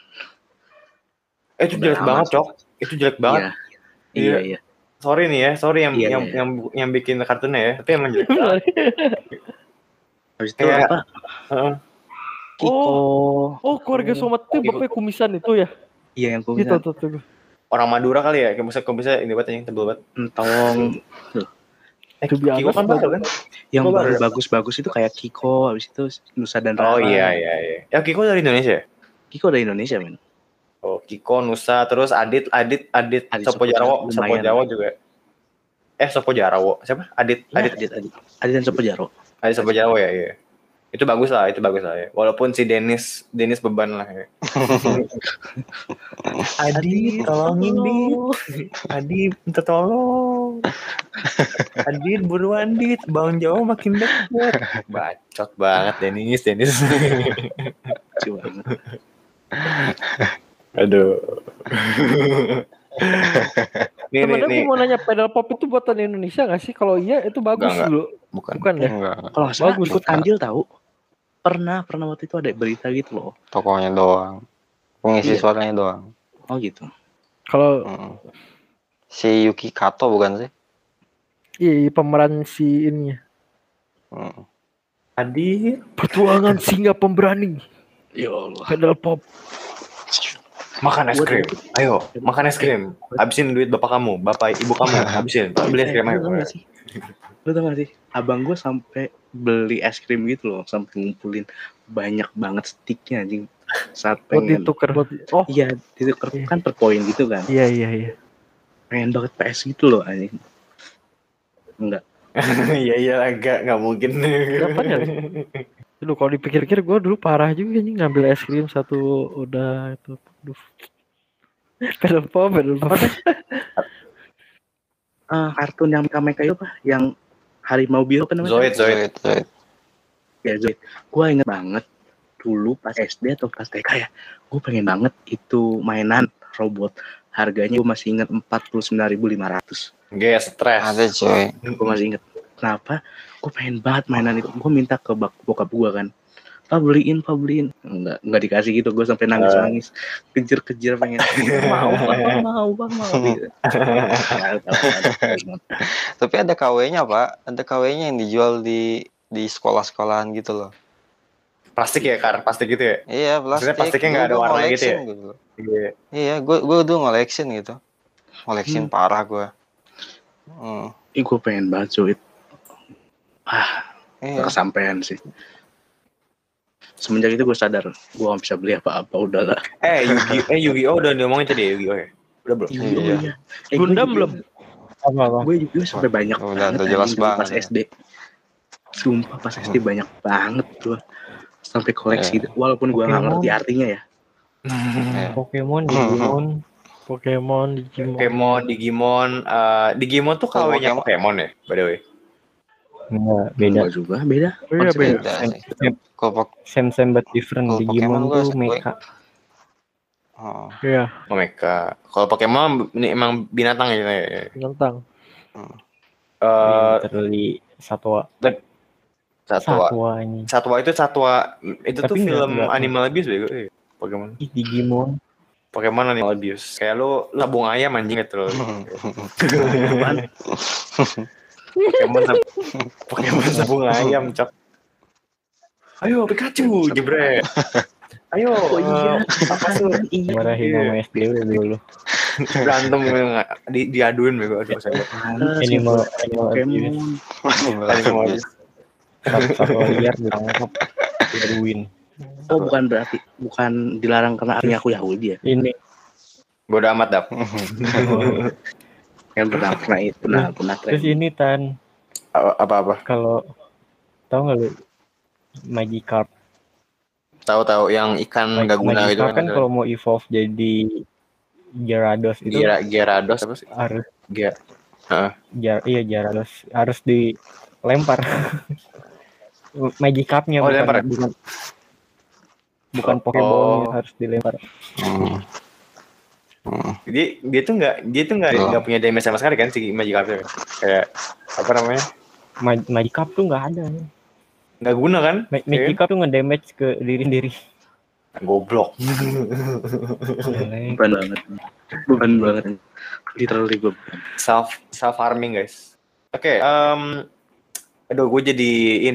Itu jelek banget, Cok. Itu jelek banget. Iya. Sorry yang bikin kartunnya ya. Tapi emang jelek banget. Habis itu apa? Kiko. Oh, keluarga Somat itu bapaknya kumisan itu ya? Iya, yang kumisan. Gitu. Orang Madura kali ya. Kayak bisa ini banget yang tebel banget. Entong. Kiko kan baru kan? Yang baru bagus-bagus itu kayak Kiko, habis itu Nusa dan Rara. Oh iya. Ya Kiko dari Indonesia. Kiko dari Indonesia, men. Oh, Kiko, Nusa, terus Adit Sopo Jarwo juga. Sopo Jarwo. Siapa? Adit dan Sopo Jarwo. Adit Sopo Jarwo ya, iya. Itu bagus lah ya. Walaupun si Dennis beban lah ya. Adit, tolongin Adit, minta tolong. Adit, buruan Dit, Bang Jawa makin dekat. Bacot banget Dennis. Coba. Aduh. Temen aku mau nanya, pedal pop itu buatan Indonesia nggak sih? Kalau iya itu bagus dulu. Bukan ya? Kalau nggak salah ikut andil tahu. Pernah waktu itu ada berita gitu loh. Tokohnya doang. Pengisi suaranya doang. Oh gitu. Kalau si Yuki Kato bukan sih? Iya, pemeran si ininya. Adit, pertuangan singa pemberani. Ya Allah. Pedal pop. Makan es krim. Ayo, makan es krim. Habisin duit bapak kamu, bapak ibu kamu. Habisin. Beli es krim ayo. Lu tau gak sih? Abang gue sampai beli es krim gitu loh, sampai ngumpulin banyak banget sticknya anjing. Saat pengen ditukar. Iya, ditukar kan per poin gitu kan. Iya. Pengen banget PS gitu loh anjing. Enggak. Iya enggak mungkin. Dapat ya? Dulu kalau dipikir-pikir gue dulu parah juga nih ngambil es krim satu udah itu. Aduh. Film pop. Kartun yang mereka itu apa? Yang harimau biru kan namanya? Zoid. Ya Zoid. Gue inget banget dulu pas SD atau pas TK ya. Gue pengen banget itu mainan robot. Harganya gue masih inget 49.500. Gak stres. Ada coy. Gue masih inget. Kenapa? Gue pengen banget mainan itu. Gue minta ke bokap gue kan. Pak beliin. Enggak dikasih gitu. Gue sampai nangis. Kejar pengen. Mau. Gitu. Tapi ada KW-nya Pak. Ada KW-nya yang dijual di sekolah-sekolahan gitu loh. Plastik ya, plastik gitu ya? Iya, plastik. Maksudnya plastiknya nggak ada warna gitu ya? Gitu. Iya, gue dulu ngoleksin gitu. Ngoleksin parah gue. Gue pengen banget Zoid. Iya. Kesampean sih. Semenjak itu gue sadar gue gak bisa beli apa-apa, udahlah. Yu-Gi-Oh udah diomongin tadi ya, Yu-Gi-Oh ya? Udah belum? Iya. Gundam belum? Apa? Gue juga sampai banyak udah jelas banget pas SD. Sumpah pas SD banyak banget gue. Sampai koleksi gitu. Walaupun gue gak ngerti artinya ya. Pokemon, Digimon tuh KW-nya Pokemon ya, by the way? Enggak, beda. Enggak juga, beda. Iya beda. Same but different. Digimon tuh mecha. Iya. Mecha. Kalau Pokemon ini emang binatang ya. Binatang. Literally satwa. Satwa itu tuh film Animal Abuse bego. Pokemon. Digimon. Pokemon Animal Abuse. Kayak lu labung ayam anjing gitu loh. Pokemon sabung ayam, cok. Ayo Pikachu, jebret. Ayo. Apa tuh? Marahin sama SD udah dulu. Berantem diaduin bego saya. Animal abuse. Satu liar ditangkap, diaduin. Oh bukan dilarang karena artinya aku Yahudi ya. Ini bodo amat dap. Yang pernah terus ini Tan. Apa? Kalau tahu nggak lu Magikarp? Tahu yang ikan nggak guna gitu kan kalau mau evolve jadi Gyarados itu. Gyarados apa sih? Harus Gyarados harus dilempar. Magikarpnya bukan Pokeball harus dilempar. Jadi dia tuh nggak punya damage sama sekali kan si Magikarp kayak apa namanya? Magikarp tuh nggak ada. Nggak guna kan? Magikarp tuh nge-damage ke diri sendiri. Goblok. Bukan banget. Literally gue self harming guys. Oke, aduh gue jadi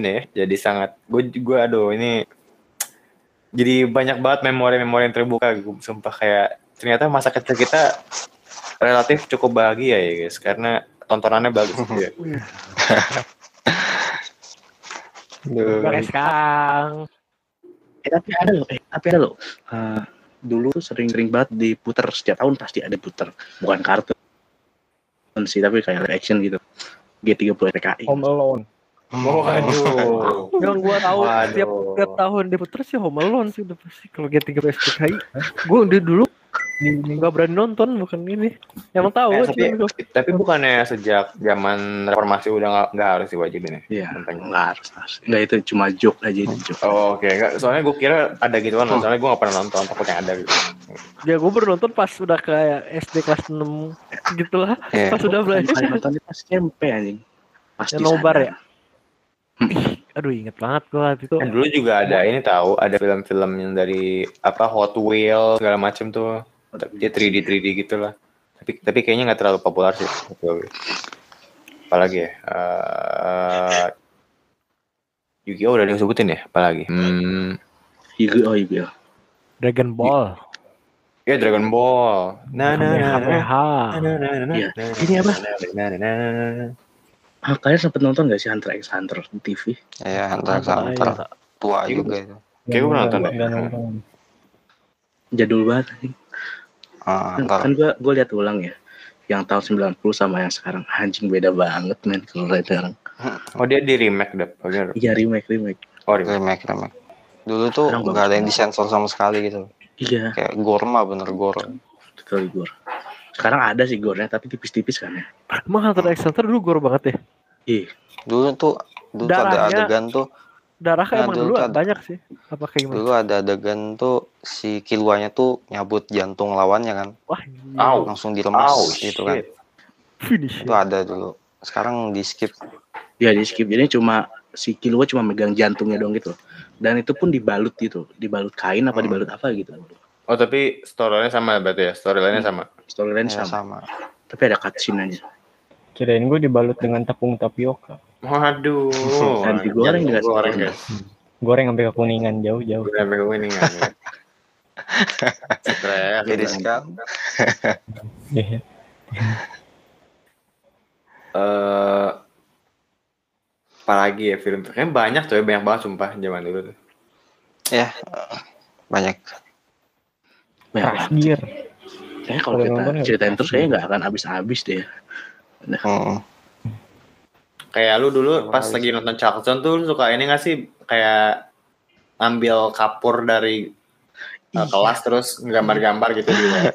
jadi banyak banget memori yang terbuka. Sumpah kayak ternyata masa kecil kita relatif cukup bahagia ya guys, karena tontonannya bagus ya. Sekarang. Tapi ada loh. Dulu tuh sering banget diputer, setiap tahun pasti ada puter. Bukan kartun sih, tapi kayak live action gitu. G30 PKI. Home Alone. Waduh. Yang gua tahu setiap tahun diputer sih Home Alone sih udah pasti. Kalau G30 PKI, gua dulu nggak berani nonton, bukan ini. Emang tahu tapi bukannya sejak zaman reformasi udah nggak harus diwajibin ya? Iya, nggak harus. Nggak, itu cuma joke aja itu joke. Oh, oke. Nggak, soalnya gue kira ada gituan, soalnya gue nggak pernah nonton, takutnya ada gitu. Ya gue baru nonton pas udah kayak SD kelas 6 gitulah. Pas udah belajar. Nontonnya pas SMP anjing. Pas yang nobar ya. Aduh inget banget gue itu. Dulu juga ada ada film-film yang dari Hot Wheels segala macam tuh. Dia 3D gitu lah. Tapi kayaknya nggak terlalu populer sih. Apalagi ya? Yu-Gi-Oh udah disebutin ya? Apalagi? Yu-Gi-Oh. Dragon Ball. Ya Dragon Ball. Iya. Ini apa? Kalian sempet nonton gak sih Hunter x Hunter di TV? Iya, Hunter x Hunter. Tua juga itu. Kayak gue pernah nonton deh. Jadul banget. Kan gue lihat ulang ya. Yang tahun 90 sama yang sekarang. Anjing beda banget men kalau sekarang. Oh dia di remake deh. Iya remake. Oh remake. Dulu tuh nggak ada yang disensor sama sekali gitu. Iya. Kayak gore mah bener gore. Betul gore. Sekarang ada sih gore-nya tapi tipis-tipis kan ya. Emang Hunter x Hunter dulu gore banget ya? Iya. Dulu tuh ada adegan tuh. Darah emang dulu banyak sih. Apa kayak gimana? Dulu ada adegan tuh si Killuanya tuh nyabut jantung lawannya kan. Wah, langsung diremas gitu kan. Finish. Itu ada dulu. Sekarang di skip. Ya di skip. Jadi cuma si Killua cuma megang jantungnya dong gitu. Dan itu pun dibalut gitu. Dibalut kain apa dibalut apa gitu. Oh tapi storyline sama berarti ya? Storyline sama? Storyline sama. Tapi ada cutscene aja. Kirain gue dibalut dengan tepung tapioka. Waduh. Dan digoreng juga. Goreng sampai kekuningan jauh-jauh. Sampai kekuningan. Stres. Jadi sekarang. Apalagi ya film kayaknya banyak tuh ya, banyak banget sumpah zaman dulu tuh. Ya, banyak. Terakhir. Kayaknya kalau kita ceritain terus kayaknya nggak akan habis-habis deh. Kayak lu dulu pas lagi nonton Charlton tuh suka ini nggak sih kayak ambil kapur dari kelas terus gambar-gambar gitu juga.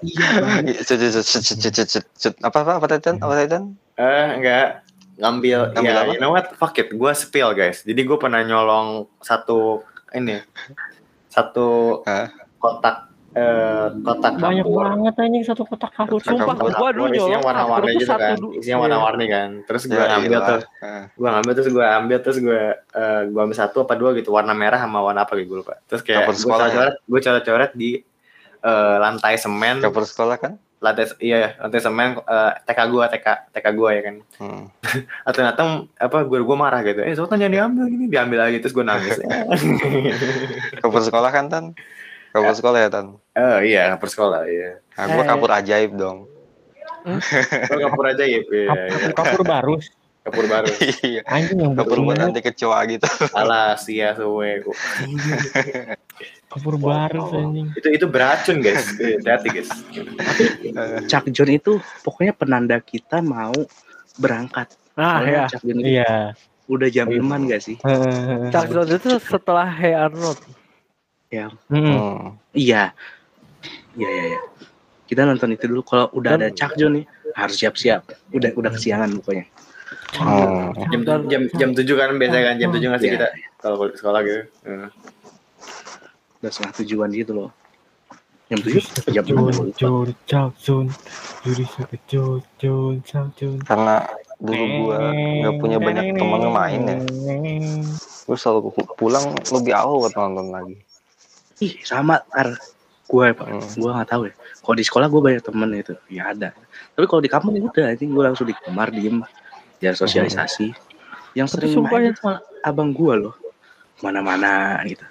Apa Titan? Enggak. Ngambil ya, you know what? Fuck it. Gue spill guys. Jadi gue pernah nyolong satu kotak banyak kapur. Banget anjing satu kotak kapur. Sumpah gue dulu nyolong warna-warni gitu kan. Isinya warna-warni kan. Terus gue ambil tuh. Terus gue ambil satu apa dua gitu, warna merah sama warna apa gitu gue lupa. Terus kayak gue coret-coret di lantai semen. Kapur sekolah kan? Lantai semen TK gue ya kan. Atau datang gue marah gitu. Sultan jangan diambil lagi terus gue nangis. Kapur sekolah kan Tan? Kapur sekolah ya Tan? Oh iya kapur sekolah iya. Nah, gue kapur ajaib dong. Kapur ajaib. Kapur barus. Kapur baru. Iya. Anjing yang kapur buat nanti kecoa gitu. Alah sia suwe kok. Kapur baru anjing. Itu beracun guys. Hati guys. Tapi Chuck John itu pokoknya penanda kita mau berangkat. Ya. Chuck John itu udah jam 5 gak sih? Chuck John itu setelah Hey Arnold. Ya. Iya. Kita nonton itu dulu. Kalau udah ada Chuck John nih harus siap-siap. Udah kesiangan pokoknya. Jam 7 kan biasanya kan jam 7 ngasih kita kalau sekolah gitu. Udah setengah tujuan gitu loh. Jam 7 jam 6. Karena dulu gua nggak punya banyak teman yang main ya. Gua selalu pulang lebih awal buat nonton lagi. Ih sama gue nggak tahu ya. Kalau di sekolah gue banyak temen itu ya ada. Tapi kalau di kampung udah gue langsung di kamar diem. Ya sosialisasi. Yang sering main itu malah abang gue loh. Mana-mana gitu.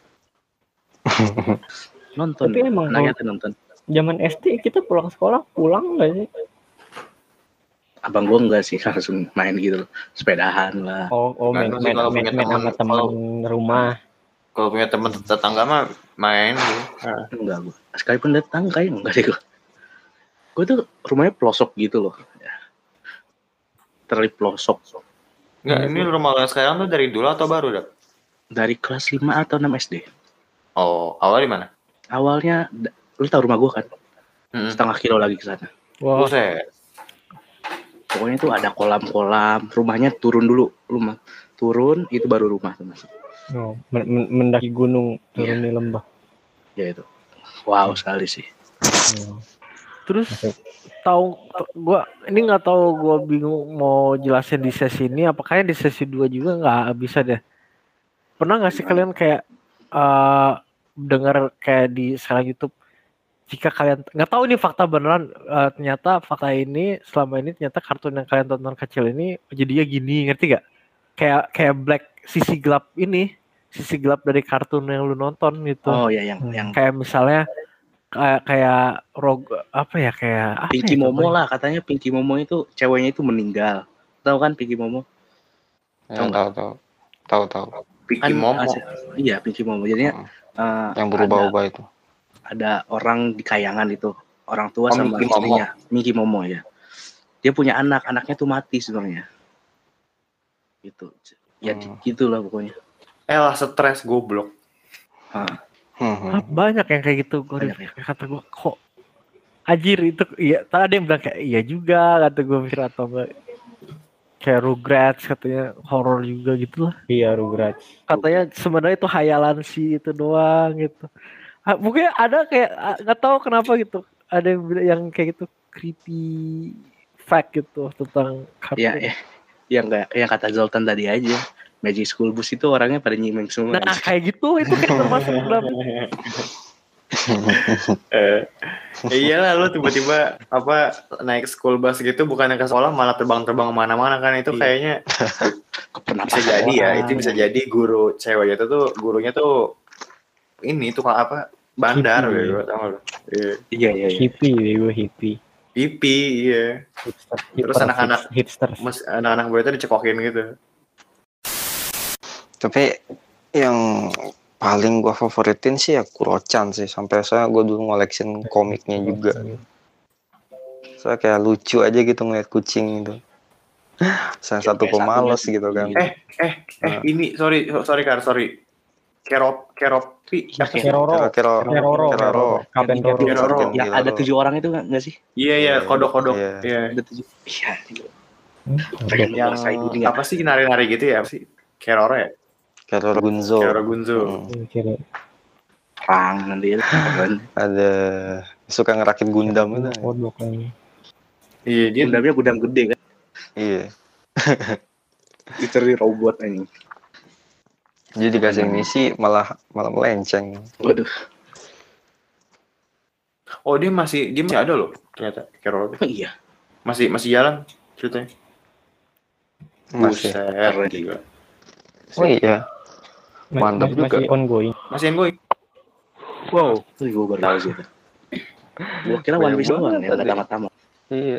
Nonton. Tapi emang nonton. Zaman SD kita pulang sekolah pulang nggak sih? Abang gue enggak sih langsung main gitu loh. Sepedahan lah. Main sama teman rumah. Kalau punya teman tetangga mah main gitu. Enggak gue. Sekalipun datang kayak enggak deh gue. Gue tuh rumahnya pelosok gitu loh. Terlalu pelosok. Enggak, ini rumah lo sekarang tuh dari dulu atau baru, Dak? Dari kelas 5 atau 6 SD. Oh, awalnya di mana? Awalnya, lu tahu rumah gue kan? Setengah kilo lagi ke sana. Wow. Pokoknya tuh ada kolam-kolam. Rumahnya turun dulu. Turun, itu baru rumah tuh masuk. Oh, mendaki gunung, turun di lembah. Ya itu. Wow sekali sih. Terus tahu gua ini nggak tahu, gua bingung mau jelasin di sesi ini apakah di sesi 2 juga nggak bisa deh. Pernah nggak sih kalian kayak dengar kayak di sekarang YouTube, jika kalian nggak tahu ini fakta beneran, ternyata fakta ini selama ini ternyata kartun yang kalian tonton kecil ini jadinya gini, ngerti gak? Kayak black, sisi gelap dari kartun yang lu nonton gitu. Oh ya yang kayak misalnya kayak apa ya kayak Pinky Momo lah, katanya Pinky Momo itu ceweknya itu meninggal. Tahu kan Pinky Momo? Ya, tahu. Pinky Momo. Iya, Pinky Momo. Jadinya yang berubah-ubah itu. Ada orang di kayangan itu, orang tua sama Mickey istrinya, Pinky Momo ya. Dia punya anaknya tuh mati sebenarnya. Gitu. Ya gitulah pokoknya. Lah stres goblok. Banyak yang kayak gitu. Kata gue kok anjir itu iya. Tadi ada yang bilang kayak iya juga kata gue mikir atau enggak. Kayak Rugrats katanya horor juga gitu lah. Iya Rugrats. Katanya sebenarnya itu hayalan sih itu doang gitu. Mungkin ada kayak nggak tahu kenapa gitu. Ada yang kayak gitu creepy fact gitu tentang kartun. Ya, yang kata Zoltan tadi aja. Magic School Bus itu orangnya pada nyimeng semua. Nah kayak gitu itu kayak termasuk dalam. Iyalah lu tiba-tiba naik school bus gitu bukannya ke sekolah malah terbang-terbang kemana-mana kan itu kayaknya bisa jadi ya itu bisa jadi guru cewek itu tuh gurunya tuh ini tukang bandar gitu tau lu. Iya. Hippie. Iya. Terus anak-anak hipsters. Anak-anak gue itu dicekokin gitu. Tapi yang paling gue favoritin sih ya Kuro-chan sih. Sampai saya gue dulu ngoleksin komiknya juga. Saya kayak lucu aja gitu ngeliat kucing gitu. Saya satu pemalas gitu kan. Ini sorry Kar, sorry. Keropi. Keroro. Kapten Roro. Yang ada 7 orang itu nggak sih? Iya, kodok. Iya. Ada 7. Iya. Yang apa sih nari-nari gitu ya? Apa sih? Keroro ya? Keroro Gunzo. Perang nanti ada suka ngerakit Gundam itu. Iya, dia Gundamnya gudang gede kan. Iya. Literally robot ini. Jadi dikasih misi malah melenceng. Waduh. Oh dia masih ada loh ternyata Keroro. Iya. Masih jalan ceritanya. Masih. Buset, gila. Oh iya. Mantap juga. Masih ongoing. Wow, itu gue baru tahu sih. Gue kira One Piece doang yang nggak tamat-tamat. Iya.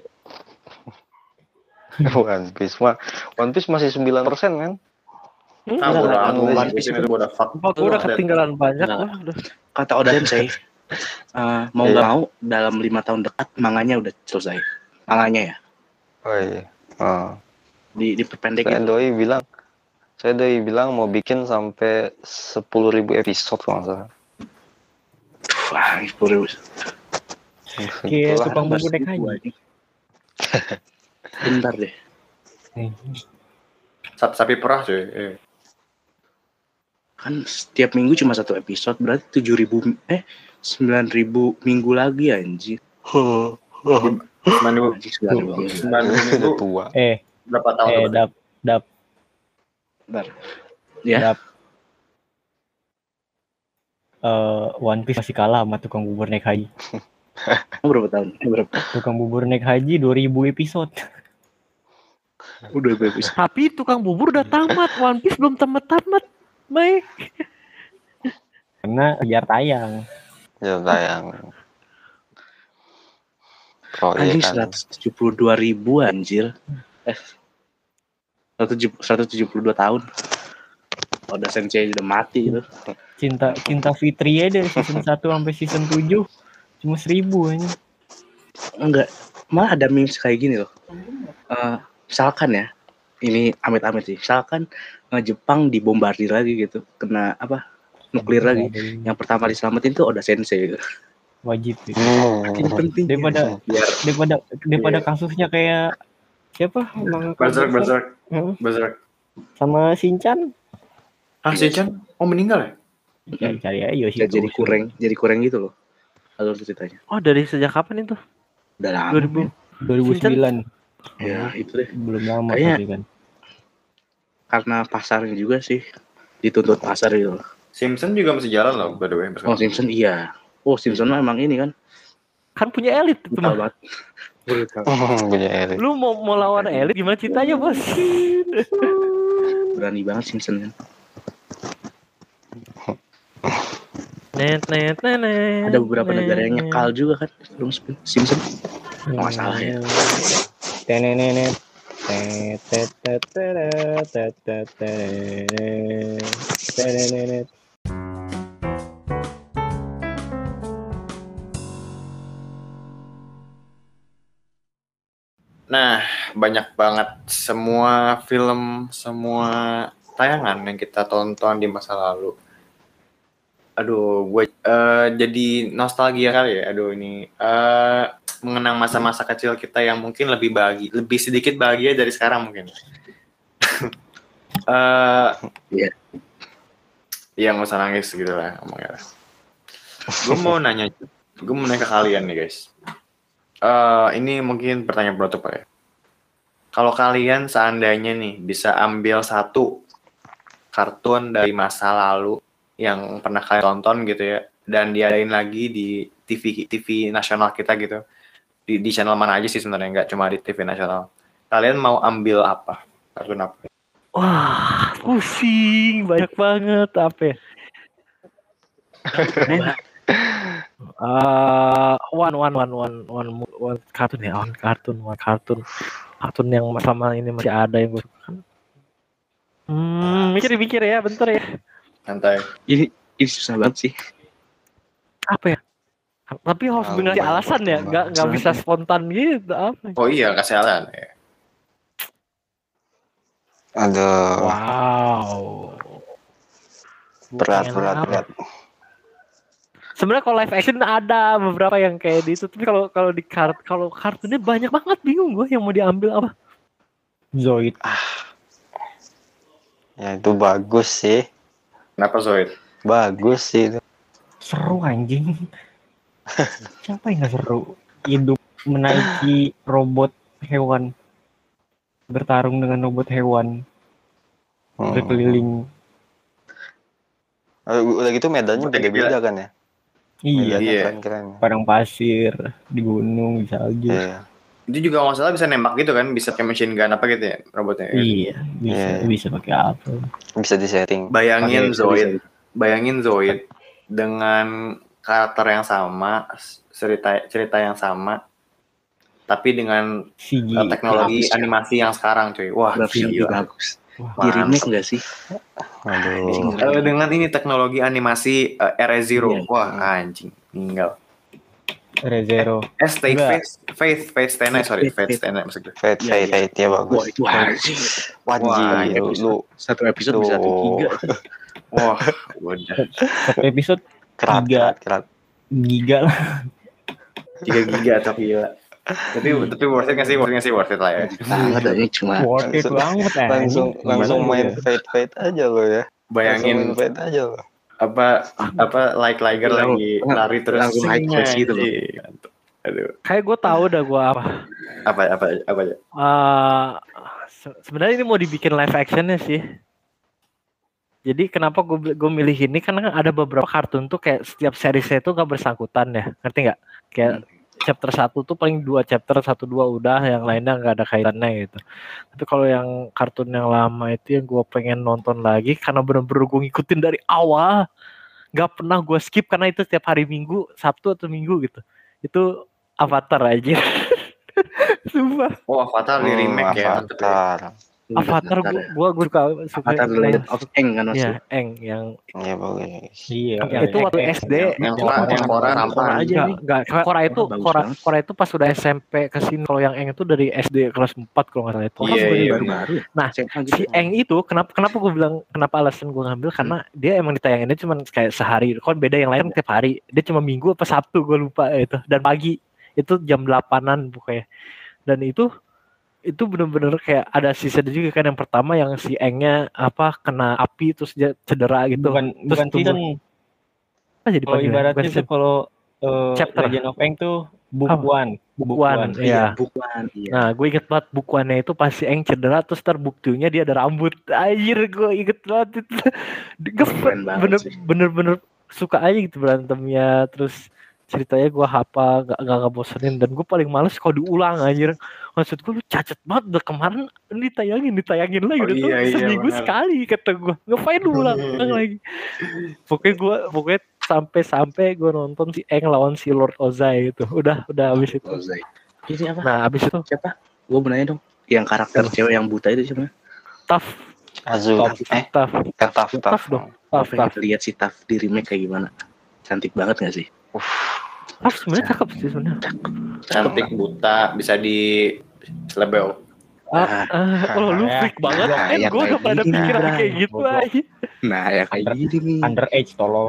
One Piece masih 9% kan? One Piece itu udah ketinggalan banyak lah. Kata Oda Sensei, mau nggak mau dalam 5 tahun dekat manganya udah selesai. Manganya ya. Oh iya. Diperpendek. Saya doi bilang mau bikin sampai 10.000 episode kalau nggak salah. Wah, 10.000. Kayak tukang bubur naik haji. Bentar deh. Sapi perah cuy. Kan setiap minggu cuma 1 episode, berarti 9.000 minggu lagi anjir. 9 minggu tua. Berapa tahun? Dap. Bentar. Ya. One Piece masih kalah sama tukang bubur naik haji. Berapa tahun? Tukang bubur naik haji 2.000 episode. Udah episode. Tapi tukang bubur udah tamat, One Piece belum tamat, Mike. Karena biar tayang. Anjing 172.000 anjir. 172 tahun. Oda Sensei udah mati gitu. Cinta Fitri ya dari season 1 sampai season 7 cuma 1.000 aja. Enggak, malah ada memes kayak gini loh. Misalkan ya, ini amit-amit sih. Misalkan Jepang dibombardir lagi gitu, kena nuklir lagi. Yang pertama diselamatin tuh Oda Sensei gitu. Wajib gitu. Penting daripada kasusnya kayak siapa? Berserk. Sama Shinchan. Shinchan? Oh meninggal ya? Cari aja Yoshi. Jadi kurang gitu loh. Alur ceritanya. Oh dari sejak kapan itu? Udah lama. 2009. Ya itu deh. Belum lama tapi kan. Karena pasarnya juga sih. Dituntut pasar gitu loh. Simpson juga masih jalan loh by the way. Oh Simpson iya. Oh Simpson emang ini kan. Kan punya elit itu mah. Punya elit. Lu mau lawan elit gimana ceritanya bos? Berani banget Simpson kan. Ada beberapa negara yang nyekal juga kan, film Simpson. Nggak salah ya. Tenenenet. Tenenenet. Nah, banyak banget semua film, semua tayangan yang kita tonton di masa lalu. Aduh, gue jadi nostalgia kali ya. Aduh, ini mengenang masa-masa kecil kita yang mungkin lebih sedikit bahagia dari sekarang mungkin. Iya. Iya, nggak usah nangis gitu lah ngomongnya. Gue mau nanya ke kalian nih guys. Ini mungkin pertanyaan penutup ya. Kalau kalian seandainya nih bisa ambil satu kartun dari masa lalu yang pernah kalian tonton gitu ya, dan diadain lagi di TV nasional kita gitu, di channel mana aja sih sebenarnya, nggak cuma di TV nasional. Kalian mau ambil apa? Kartun apa? Wah, pusing banyak banget apa ya? One kartun ya, kartun yang sama ini masih ada yang gue suka kan. Mikir ya, bentar ya. Santai. Ini susah banget sih. Apa ya? Tapi harus benar alasan ya, nggak bisa spontan gitu. Apa? Oh iya, kasih alasan ya. Aduh. Wow. Berat. Sebenarnya kalau live action ada beberapa yang kayak gitu, tapi kalau kartunnya banyak banget, bingung gue yang mau diambil apa. Zoid. Ya itu bagus sih. Kenapa Zoid? Bagus sih itu. Seru anjing. Siapa yang gak seru? Hidup menaiki robot hewan, bertarung dengan robot hewan, berkeliling. Udah gitu medannya beda-beda kan ya? Iya. Keren-keren. Padang pasir, di gunung, di salju. Iya. Itu juga nggak salah bisa nembak gitu kan, bisa kayak machine gun apa gitu ya robotnya. Iya, bisa pakai apa? Bisa disetting. Bayangin Zoid dengan karakter yang sama, cerita yang sama, tapi dengan teknologi animasi yang sekarang, cuy. Wah, gila. Bagus. Di remake nggak sih? Aduh. Dengan ini teknologi animasi Re:Zero. Wah, anjing, meninggal. Re:Zero. Faith Stay Night maksud gue. Fate ya bagus. Wajib. Lu satu episode bisa 3. Wah, udah. Satu episode kerat. Giga lah. 3 giga tapi gila. Tapi worth it nggak sih? Worth it lah ya. Sangat aja cuma. Worth it banget langsung main Fate aja lo ya. Bayangin Fate aja lo. apa Liger lagi lari terus langsung high class gitu loh. Aduh. Kayak gue tahu dah gue apa aja. Sebenarnya ini mau dibikin live actionnya sih. Jadi kenapa gue milih ini, karena ada beberapa kartun tuh kayak setiap seriesnya itu gak bersangkutan ya, ngerti nggak? Kayak chapter 1 tuh paling 2 chapter 1-2 udah, yang lainnya nggak ada kaitannya gitu. Tapi kalau yang kartun yang lama itu yang gue pengen nonton lagi karena bener-bener gue ngikutin dari awal, nggak pernah gue skip karena itu setiap hari Minggu, Sabtu atau Minggu gitu. Itu Avatar aja. Sumpah. Oh, Avatar di remake ya. Avatar gue suka Avatar The Legend of Aang kan maksudnya. Iya, Aang yang bagus. Iya. Itu waktu SD yang Korra aja nih. Enggak, Korra itu pas udah SMP ke sini. Kalau yang Aang itu dari SD kelas 4 kalau enggak salah itu. Iya. Baru-baru. Nah, si Aang itu kenapa gue bilang kenapa alasan gue ngambil karena dia emang ditayanginnya cuma kayak sehari. Kan beda yang lain tiap hari. Dia cuma Minggu apa Sabtu gue lupa itu, dan pagi. Itu jam 8-an pokoknya. Dan itu bener-bener kayak ada season juga kan, yang pertama yang si Aangnya kena api terus dia cedera gitu. Bukan season. Jadi kalau ibaratnya tuh kalau Legend of Aang tuh book one. Iya. Book one. Iya. Nah, gue inget banget book one-nya itu pas si Aang cedera terus terbuktinya dia ada rambut. Anjir, gue inget banget itu. Bener-bener suka aja gitu berantemnya, terus ceritanya gue hafal, gak bosenin, dan gue paling males kalau diulang anjir. Maksud gue lu cacat banget, udah kemarin ditayangin lagi, udah tuh seminggu sekali kata gue, ngapain lu ulang lagi. Pokoknya sampai gue nonton si Aang lawan si Lord Ozai itu, udah abis itu. Ini apa? Nah abis itu siapa? Gue mau nanya dong, yang karakter cewek yang buta itu siapa? Taf. Taf dong. Taf. Lihat si Taf di remake kayak gimana? Cantik banget gak sih? Taf sebenarnya cakep sih sebenarnya. Cantik, buta, bisa di selebel. Lu freak banget kan? Gue udah pada pikiran kayak gitu aja. Nah ya kayak gini nih. Underage tolong.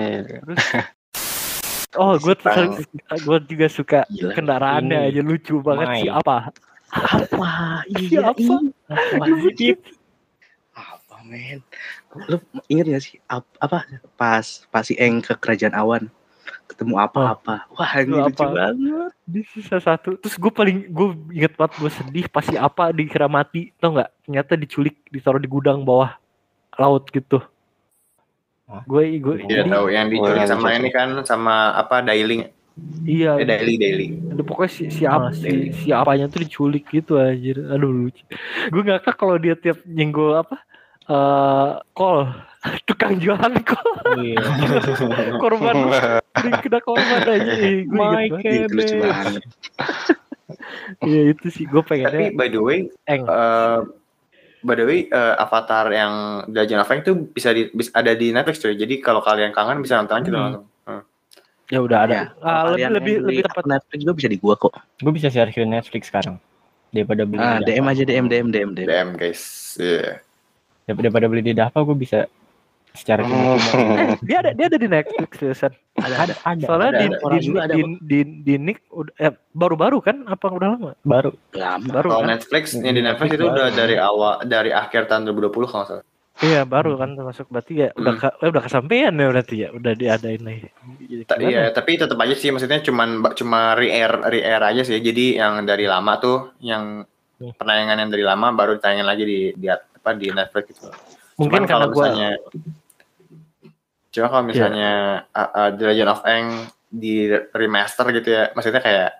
Gue juga suka kendaraannya aja, lucu banget sih. Apa men? Lu inget gak sih apa pas si Eng ke kerajaan awan ketemu apa? Wah ini lucu banget. Di sisa satu. Terus gue inget banget, gue sedih pas si apa dikira mati, tau nggak? Ternyata diculik, ditaruh di gudang bawah laut gitu. Gue tidak tahu yang diculik sama ini kan, sama apa Dailing. Iya. Daily. Aduh, pokoknya si apanya tuh diculik gitu anjir. Aduh lucu. Gue ngakak kalau dia tiap nyenggol kol, tukang jualan kol. Korban kena korban aja. Itu lucu banget. Iya itu sih gue pengennya. Tapi by the way, Avatar yang Legend of Aang itu bisa ada di Netflix cuy. Jadi kalau kalian kangen bisa nonton aja langsung. Ya udah ada. Lebih tepat Netflix juga bisa di gua kok. Gue bisa share ke Netflix sekarang daripada beli. DM aja DM guys. Iya. Daripada beli di Dava, gue bisa secara dia ada di Netflix ya, ada. Soalnya di Nick baru-baru kan, apa udah lama? Baru kalau kan? Netflix yang di Netflix itu udah dari akhir tahun 2020 kalau salah. Iya baru kan termasuk, berarti ya udah kesampaian ya berarti ya, udah diadain lagi. Iya tapi tetap aja sih, maksudnya cuma re-air aja sih. Jadi yang dari lama tuh, yang penayangan yang dari lama baru ditayangin lagi di Netflix gitu. Mungkin karena kalau misalnya The Legend of Aang di remaster gitu ya, maksudnya kayak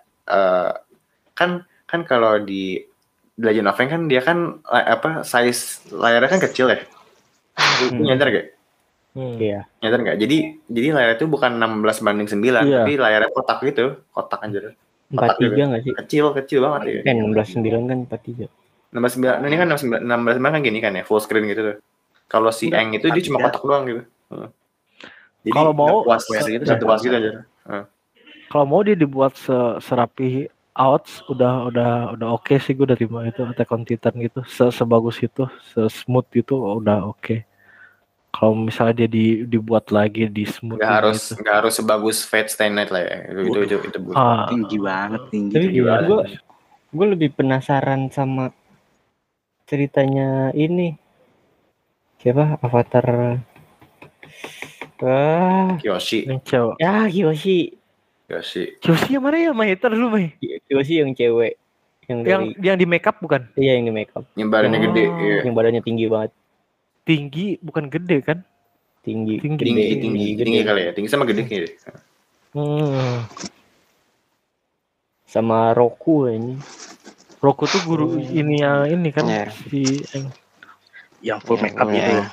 kan kalau di The Legend of Aang kan dia kan size layarnya kan kecil ya. Nyadar gak? Iya. Nyadar gak? Jadi layar itu bukan 16:9, tapi layarnya kotak gitu, kotak anjir. 43 nggak sih? Kecil banget ya. 16:9 kan 43. 16:9, ini kan 16:9 kan gini kan ya, full screen gitu tuh. Kalau si Aang itu dia cuma kotak doang gitu. Jadi kalau mau satu puas gitu aja. Kalau mau dia dibuat serapi outs, udah oke sih, gue udah terima itu Attack on Titan gitu, sebagus itu, smooth itu udah oke. Kalau misalnya dia dibuat lagi di smooth, nggak harus sebagus Fate Stay Night lah ya. Itu tinggi banget. Tapi gue lebih penasaran sama ceritanya ini. Siapa Avatar? Kyoshi. Kyoshi yang mana ya, Mai? Ntar dulu, Mai. Kyoshi yang cewek. Yang di make up bukan? Iya, yang di make up. Yang badannya gede. Iya. Yang badannya tinggi banget. Tinggi, bukan gede kan? Tinggi kali ya. Tinggi sama gede kayaknya. Sama Roku ini. Roku tuh guru ini kan si yang full make up gitu.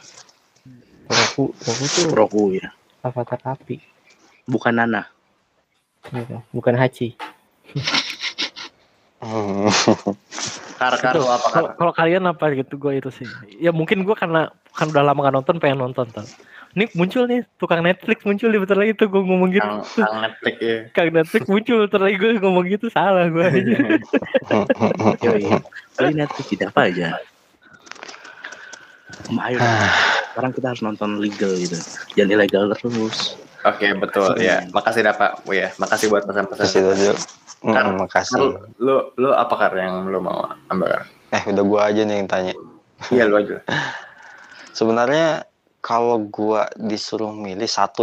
Roku ya. Avatar api. Bukan Nana. Bukan Hachi. Kalau kalian apa gitu, gue itu sih. Ya mungkin gue karena kan udah lama gak nonton, pengen nonton tuh. Ini muncul nih tukang Netflix muncul di bentar lagi tuh, gue ngomong gitu. Kang Netflix muncul bentar lagi, gue ngomong gitu, salah gue aja. Kali Netflix tidak apa aja. Ayo, sekarang kita harus nonton legal gitu, jangan ilegal terus. Oke, betul ya. Makasih Pak. Ya, makasih buat pesan-pesan. Makasih. Lu apa Kar yang lu mau ambil? Udah gua aja nih yang tanya. Iya, lu aja. Sebenarnya kalau gua disuruh milih satu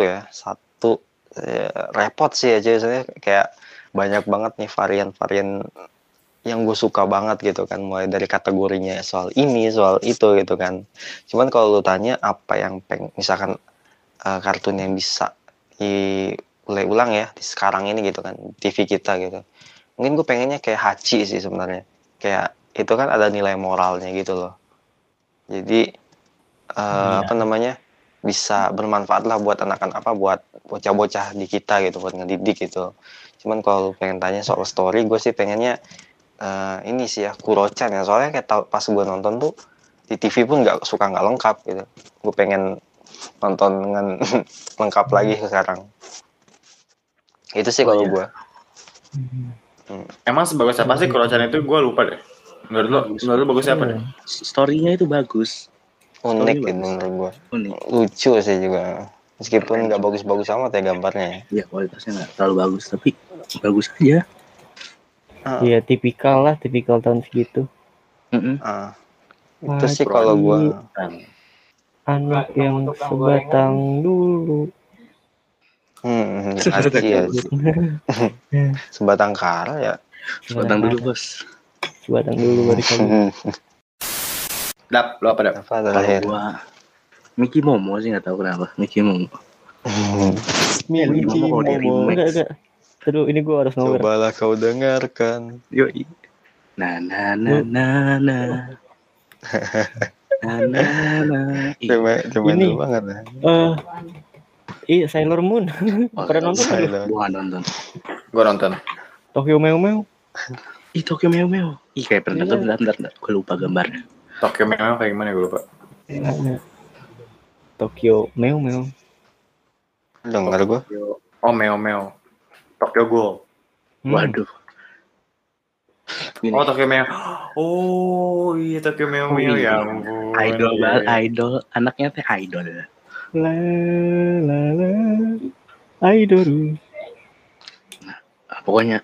repot sih aja, saya kayak banyak banget nih varian-varian yang gue suka banget gitu kan, mulai dari kategorinya soal ini, soal itu gitu kan. Cuman kalau lu tanya apa yang misalkan kartun yang bisa mulai ulang ya di sekarang ini gitu kan, TV kita gitu. Mungkin gue pengennya kayak Hachi sih sebenarnya. Kayak itu kan ada nilai moralnya gitu loh. Jadi apa namanya, bisa bermanfaat lah buat anak-anak, buat bocah-bocah di kita gitu, buat ngedidik gitu. Cuman kalau pengen tanya soal story, gue sih pengennya ini sih ya, Kuro-chan ya. Soalnya kayak pas gue nonton tuh di TV pun nggak lengkap gitu. Gue pengen nonton dengan lengkap lagi sekarang. Itu sih kalau gue. Emang sebagus apa sih Kuro-chan itu? Gue lupa deh. Menurut lu bagus apa deh? Story-nya itu bagus. Unik gitu menurut gue. Unik. Lucu sih juga. Meskipun nggak bagus-bagus amat ya gambarnya. Ya kualitasnya nggak terlalu bagus, tapi bagus aja. Iya, tipikal tahun segitu. Itu sih kalau gue. Anak yang sebatang dulu. Iya. Sebatang kara ya. Sebatang dulu, Bos. Sebatang dulu baru kamu. Dap, lo apa Dap? Apa terakhir? Gua Mickey Momo sih, nggak tahu kenapa. Mickey Momo. Mickey Momo di remake. Enggak. Aduh, ini gue harus ngobrol. Cobalah kau dengarkan. Yoi. Na. Cuma Ini. itu banget ya. Iya, Sailor Moon. Pernah nonton nggak lu? Gua nggak nonton. Gue nonton. Tokyo Mew Mew. Ih, Tokyo Mew Mew. Ih, kayak pernah nonton. Bentar. Gue lupa gambarnya. Tokyo memang kayak gimana gue lupa. Tokyo Mew Mew. Dengar gue. Oh Meo. Tokyo Ghoul. Waduh. Oh Tokyo Meo. Oh iya Tokyo Meo ya ampun. Idol. Anaknya teh idol. La idol. Pokoknya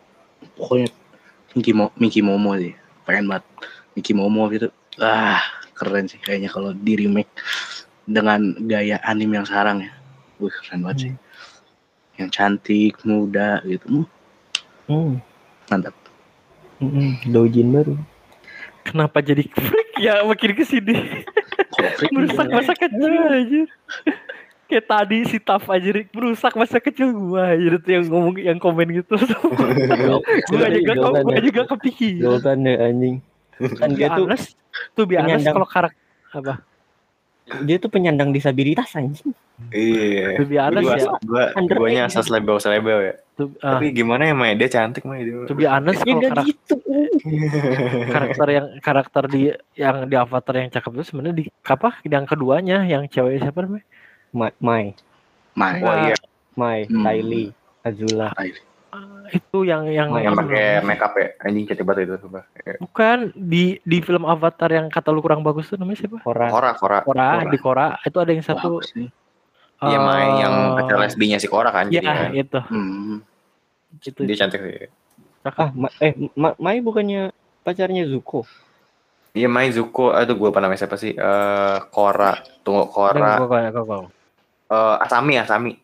Mickey Momo sih. Pengen banget Mickey Momo gitu. Keren sih kayaknya kalau di remake dengan gaya anime yang sekarang ya. Wih, keren banget sih. Yang cantik, muda gitu. Mantap. Dojin baru. Kenapa jadi freak ya makin kesini? Merusak masa kecil aja. Kayak tadi si Taf aja merusak masa kecil gua aja tuh yang ngomong, yang komen gitu. Gua juga kepikir. Goltan ya anjing. Kan dia tuh biasa kalau karakter apa? Dia tuh penyandang disabilitas anjing. Iya. Biasa ya. Guanya asas label ya. Tapi gimana ya Mai? Dia cantik Mai dia. To be honest kalau gitu. karakter yang di Avatar yang cakep itu sebenarnya di apa? Yang keduanya yang cewek siapa namanya? Mai. Oh iya. Mai, Kylie, Azula. Itu yang pakai makeup ya. Anjing cantik banget itu coba. Bukan di film Avatar yang kata lu kurang bagus tuh namanya siapa? Korra. Di Korra itu ada yang satu. Iya Mai yang pacar lesbinya si Korra kan. Iya itu. Itu dia cantik sih. Mai bukannya pacarnya Zuko? Iya Mai Zuko. Aduh gue lupa namanya siapa sih? Korra. Tunggu Korra. Asami.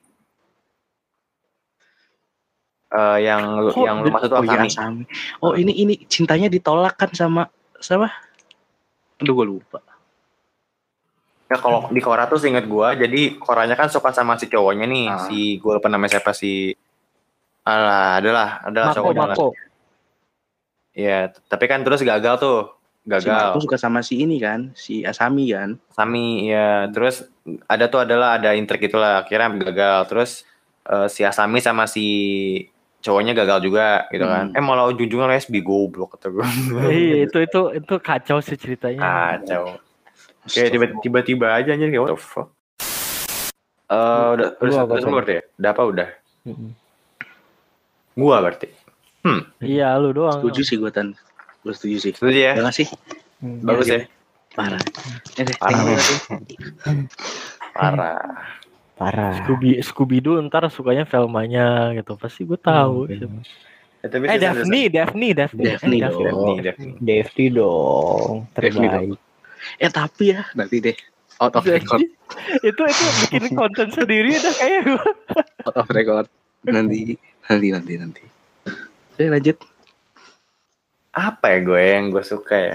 Yang lu maksud tuh Asami. Oh ini cintanya ditolak kan sama siapa? Aduh gue lupa. Ya kalau di Korra tuh seinget gue, jadi Koranya kan suka sama si cowoknya nih, si gue lupa namanya siapa si. Adalah cowoknya. Mako. Iya, tapi kan terus gagal. Si Mako suka sama si ini kan, si Asami kan. Asami ya, terus ada intrik itulah, akhirnya gagal. Terus si Asami sama si cowoknya gagal juga gitu kan. Malah ujung-ujungnya lesbi, goblok kata gue. Iya, itu kacau sih ceritanya. Kacau. Kayak tiba-tiba aja anjir kayak what the fuck. Udah semua berarti ya? Udah apa udah? Gua berarti. Iya lu doang. Setuju sih gue Tan. Gue setuju sih. Setuju ya? Terima kasih. Bagus ya? Parah. Scooby Doo ntar sukanya Velmanya gitu. Pasti gue tahu. Daphne dong. Terbaik. Tapi ya nanti deh out of record. itu bikin konten sendiri dah kayak gue. Out of record. Nanti. Saya lanjut. Apa ya yang gue suka ya?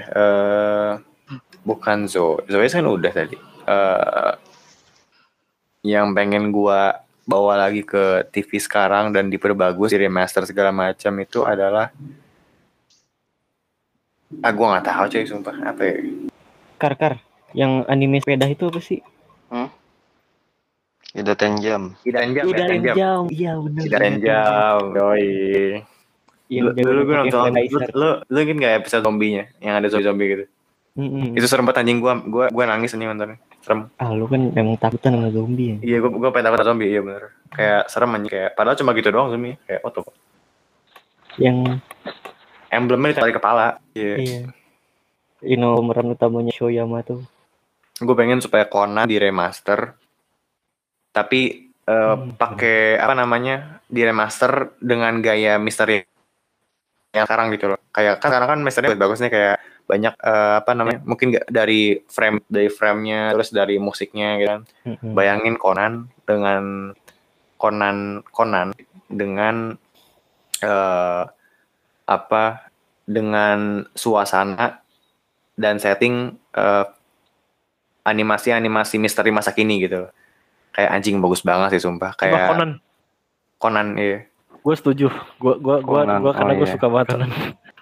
Bukan Zoe kan udah tadi. Yang pengen gue bawa lagi ke TV sekarang dan diperbagus, di remaster segala macam itu adalah gue nggak tahu cuy, sumpah apa ya. Kar yang anime sepeda itu apa sih? Hidden Jam. Iya benar. Hidden Jam, yoi. Dulu gue nonton, lu inget nggak episode zombinya yang ada zombie gitu? Itu serem banget anjing, gue nangis anjing nontonnya. Serem. Lu kan memang takutan sama zombie ya? Iya, gue pengen takut zombie, iya bener. Kayak serem anjing, kayak padahal cuma gitu doang zombie, kayak tuh. Yang emblemnya ditarik kepala. Iya. Pemeran utamanya Shoyama tuh. Gue pengen supaya Conan di remaster, tapi pakai apa namanya, di remaster dengan gaya misteri yang sekarang gitu loh. Kayak kan sekarang kan misternya bagusnya kayak banyak apa namanya, mungkin dari frame-nya, terus dari musiknya gitu kan. Bayangin Conan dengan dengan suasana dan setting animasi misteri masa kini gitu. Kayak anjing bagus banget sih sumpah. Kayak Conan iya. Gue setuju. Gue karena gue suka banget Conan.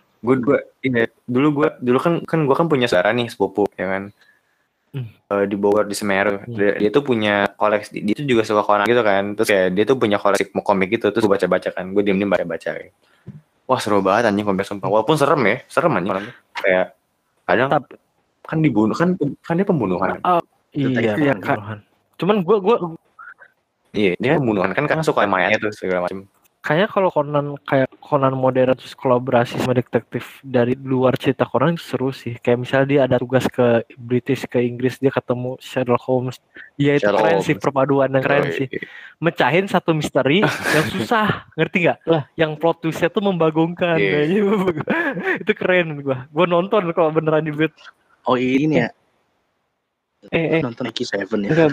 Dulu kan gue kan punya saudara nih, sepupu ya kan. Di Bogor, di Semeru. Dia tuh punya koleksi, dia tuh juga suka Conan gitu kan. Terus kayak dia tuh punya koleksi komik gitu, terus gue baca-baca kan. Gue diem-diem baca-baca kayak. Wah seru banget anjing komik sumpah. Walaupun serem anjing Conan. Kayak kadang kan dibunuh kan dia pembunuhan. Iya pembunuhan. Cuman gue iya, dia pembunuhan kan suka mayatnya tuh segala macam. Kayaknya kalau Conan modern terus kolaborasi sama detektif dari luar cerita Conan itu seru sih. Kayak misalnya dia ada tugas ke British, ke Inggris, dia ketemu Sherlock Holmes. Ya itu keren sih, perpaduan yang keren sih. Mecahin satu misteri yang susah, ngerti nggak? Lah, yang plot twistnya tuh membagongkan. Itu keren gue nonton kalau beneran dibuat. Oh ini ya. Nonton X7 ya. Enggak,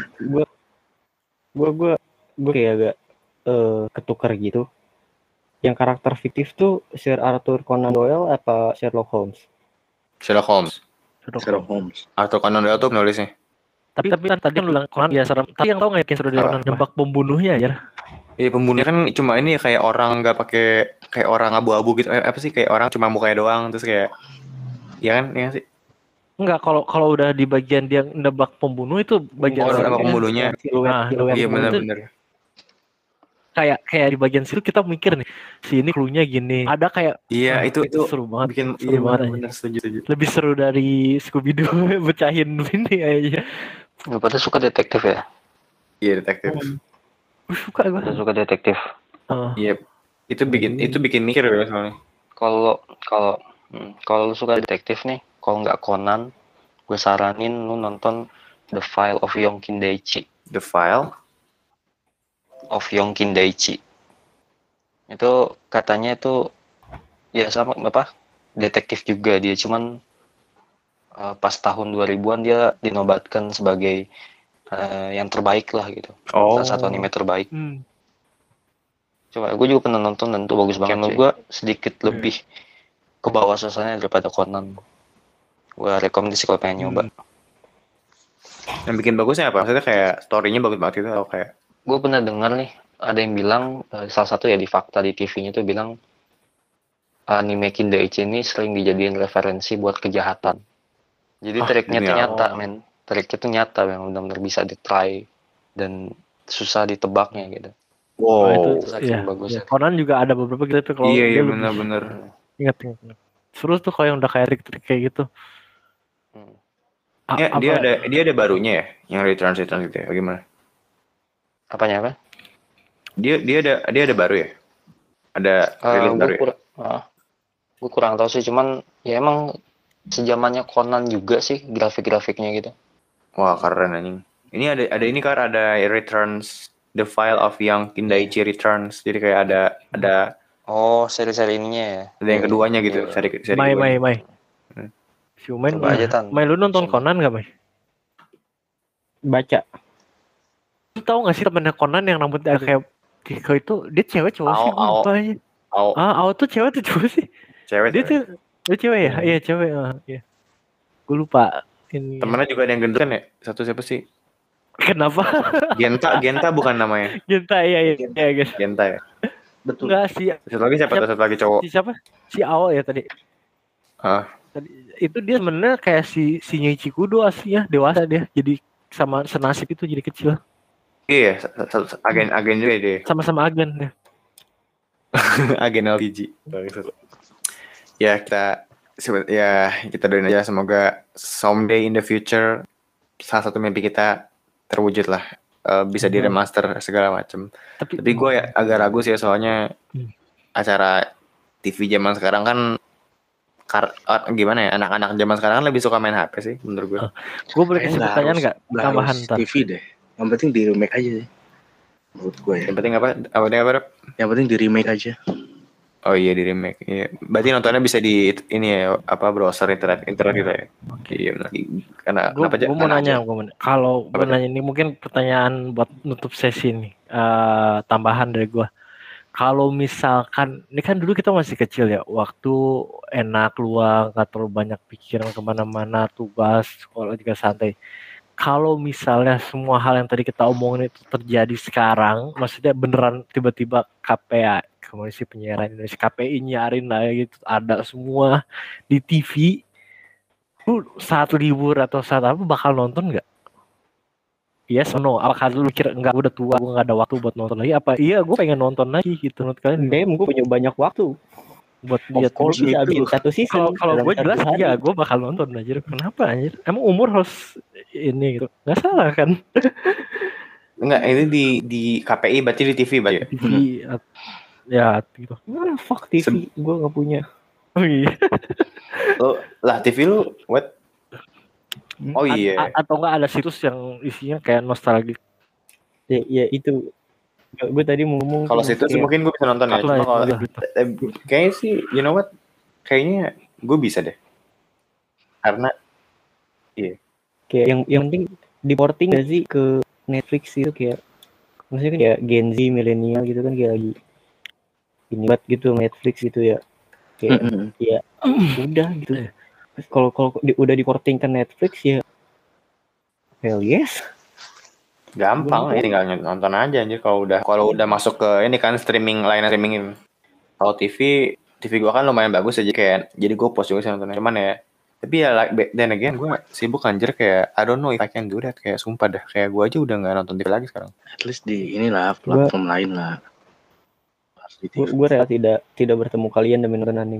gue kayak agak ketukar gitu. Yang karakter fiktif tuh Sir Arthur Conan Doyle apa Sherlock Holmes? Sherlock Holmes. Arthur Conan Doyle tuh penulisnya. Tapi kan tadi kan bilang Conan ya serem. Tapi yang tau nggak yakin seru dari Conan nembak pembunuhnya aja. Iya pembunuhnya kan cuma ini kayak orang nggak pakai, kayak orang abu-abu gitu. Apa sih, kayak orang cuma mukanya doang terus kayak, ya kan sih. Enggak, kalau udah di bagian dia nebak pembunuh itu bagian nebak pembunuhnya. Iya benar. Kayak di bagian situ kita mikir nih, si ini cluenya gini. Ada kayak itu seru banget. Bikin seru banget. Bener, setuju. Lebih seru dari Scooby Doo pecahin ini aja. Lu pada suka detektif ya? Iya, detektif. Suka gue. Suka detektif. Iya. Itu bikin mikir ya soalnya. Kalau lu suka detektif nih, kalau nggak Conan, gue saranin lu nonton The File of Yongkin Daichi. The File of Yongkin Daichi. Itu katanya itu ya sama apa? Detektif juga dia, cuman pas tahun 2000-an dia dinobatkan sebagai yang terbaik lah gitu. Salah satu anime terbaik. Coba gue juga pernah nonton dan itu bagus banget. Menurut gue sedikit lebih ke bawah suasananya daripada Conan. Gue rekomendasi kalau pengen nyoba. Yang bikin bagusnya apa? Maksudnya kayak story-nya bagus banget gitu atau kayak? Gue pernah dengar nih, ada yang bilang, salah satu ya di fakta di TV-nya tuh bilang, anime Kindaichi ini sering dijadiin referensi buat kejahatan. Jadi triknya tuh nyata, men. Triknya tuh nyata, yang benar-benar bisa di-try dan susah ditebaknya gitu. Wow, itu bagus. Ya, Conan juga ada beberapa gitu kalau iya benar-benar. Ingat. Seru tuh kalau yang udah kayak trik-trik kayak gitu. Dia ada barunya ya, yang return gitu ya, bagaimana? Apanya apa? Dia ada baru ya? Ada rilis baru ya? Gue kurang tahu sih, cuman ya emang sejamannya Conan juga sih grafik-grafiknya gitu. Wah keren anjing. Ini ada ini kan ada Returns, The File of Yongkin Daichi Returns. Jadi kayak ada seri-seri ininya ya. Ada yang keduanya gitu, seri Mai. Mai lu nonton Conan enggak, Mai? Baca. Lu tahu nggak sih temennya Conan yang rambutnya kayak Kiko itu, dia cewek cowok sih gue lupa aja. Ao tuh cewek tuh cowok sih. Cewek. Dia cewek ya? Iya cewek. Iya. Gue lupa. Temennya juga ada yang gendut kan ya? Satu siapa sih? Kenapa? Genta bukan namanya. Genta iya guys. Genta ya. Betul. Enggak sih. Satu lagi cowok. Siapa? Si Ao ya tadi. Tadi itu dia sebenarnya kayak si Nyichi Kudo aslinya, dewasa dia. Jadi sama senasib itu jadi kecil. Iya, agen juga dia. Sama-sama agen ya. Agen LPG. Ya kita doain aja semoga someday in the future salah satu mimpi kita terwujud lah, bisa di remaster segala macam. Tapi gue ya agak ragu sih soalnya acara TV zaman sekarang kan gimana ya, anak-anak zaman sekarang kan lebih suka main HP sih menurut gue. Gue boleh kasih pertanyaan nggak? Tambahan TV deh. Yang penting di remake aja sih. Menurut gue ya. Yang penting apa? Yang penting di remake aja. Oh iya di remake. Iya. Berarti nontonnya bisa di ini ya, browser internet gitu ya. Oke. Iya benar. Karena gue mau nanya, kalau gue nanya ini mungkin pertanyaan buat nutup sesi nih. Tambahan dari gue. Kalau misalkan ini kan dulu kita masih kecil ya, waktu enak luang, nggak terlalu banyak pikiran kemana-mana, tugas sekolah juga santai. Kalau misalnya semua hal yang tadi kita omongin itu terjadi sekarang, maksudnya beneran tiba-tiba KPI, Komisi Penyiaran Indonesia, KPI nyarin lah gitu, ada semua di TV, lu saat libur atau saat apa bakal nonton nggak? Yes or no? Apakah lu kira enggak, gue udah tua, gue nggak ada waktu buat nonton lagi? Apa iya gue pengen nonton lagi gitu? Menurut kalian? Gue punya banyak waktu buat lihat bisa bikin satu season. Kalau gue jelas ya gue bakal nonton anjir. Kenapa anjir? Emang umur harus ini gitu? Nggak salah kan? Enggak, ini di KPI berarti di TV berarti. TV ya gitu. Fuck TV, gue nggak punya. Oh iya. Lah TV lu what? Oh iya. Atau enggak ada situs yang isinya kayak nostalgia. Ya itu. Gue tadi mau ngomong. Kalau situs mungkin gue bisa nonton ya. Kayaknya sih, you know what? Kayaknya gue bisa deh. Karena iya. Kayak yang penting diporting gak sih ke Netflix itu, kayak maksudnya kan kayak Gen Z, milenial gitu kan, kayak lagi ini buat gitu Netflix gitu ya. Kayak ya udah gitu. Kalau udah diporting ke Netflix ya hell yes. Gampang ya, tinggal nonton aja anjir kalau udah masuk ke ini kan layanan streaming ini. Kalau TV gua kan lumayan bagus aja, kayak jadi gua post juga sih nontonnya. Cuman ya tapi ya then again gua sibuk anjir, kayak I don't know if I can do that, kayak sumpah dah, kayak gua aja udah enggak nonton TV lagi sekarang. At least di inilah platform lain lah. Gue rela tidak bertemu kalian demi nonton anime.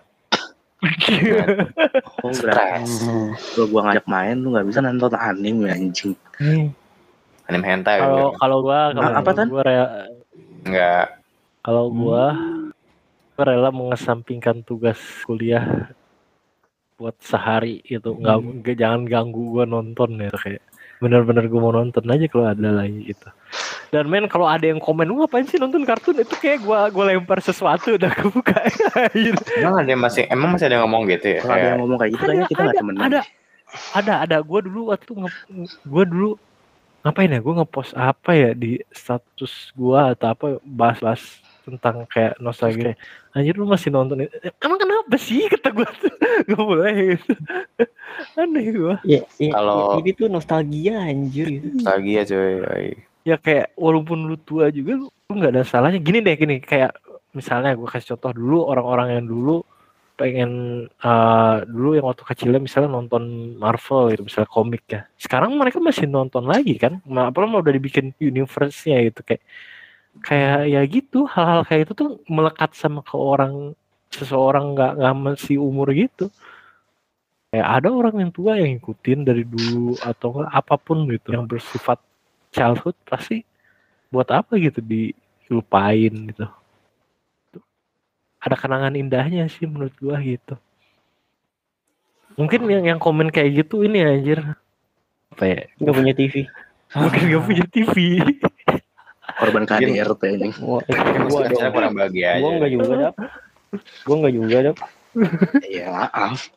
Oh stres. Kalau gua ngajak main lu nggak bisa nonton anime anjing. Anime hentai. Kalau gua enggak. Kalau gua rela mengesampingkan tugas kuliah buat sehari itu, nggak jangan ganggu gua nonton ya, kayak benar-benar gua mau nonton aja kalau ada lagi gitu. Dan men kalau ada yang komen lu ngapain sih nonton kartun, itu kayak gua lempar sesuatu udah kebuka. Emang masih ada yang ngomong gitu ya? Kalau ada yang ngomong kayak gitu kayaknya kita nggak temenan. Ada. Gue dulu ngapain ya? Gue ngepost apa ya di status gue atau apa, bahas tentang kayak nostalgia. Anjir lu masih nonton itu? Emang kenapa sih, kata gue tuh gak boleh gitu. Aneh gue. Kalau ini tuh nostalgia anjir gitu. Nostalgia coy. Ya kayak walaupun lu tua juga lu nggak ada salahnya. Gini kayak misalnya gue kasih contoh dulu, orang-orang yang dulu pengen dulu yang waktu kecilnya misalnya nonton Marvel gitu, misalnya komik ya, sekarang mereka masih nonton lagi kan, apalagi mau udah dibikin universe-nya gitu, kayak ya gitu, hal-hal kayak itu tuh melekat sama ke seseorang nggak masih umur gitu. Kayak ada orang yang tua yang ngikutin dari dulu atau apapun gitu yang bersifat childhood, pasti buat apa gitu dilupain gitu. Ada kenangan indahnya sih menurut gua gitu. Mungkin yang komen kayak gitu ini anjir apa ya, nggak punya TV. Mungkin nggak punya TV. Korban KDRT ini. Gua kurang bahagia aja. Gua nggak juga dap. Ya maaf.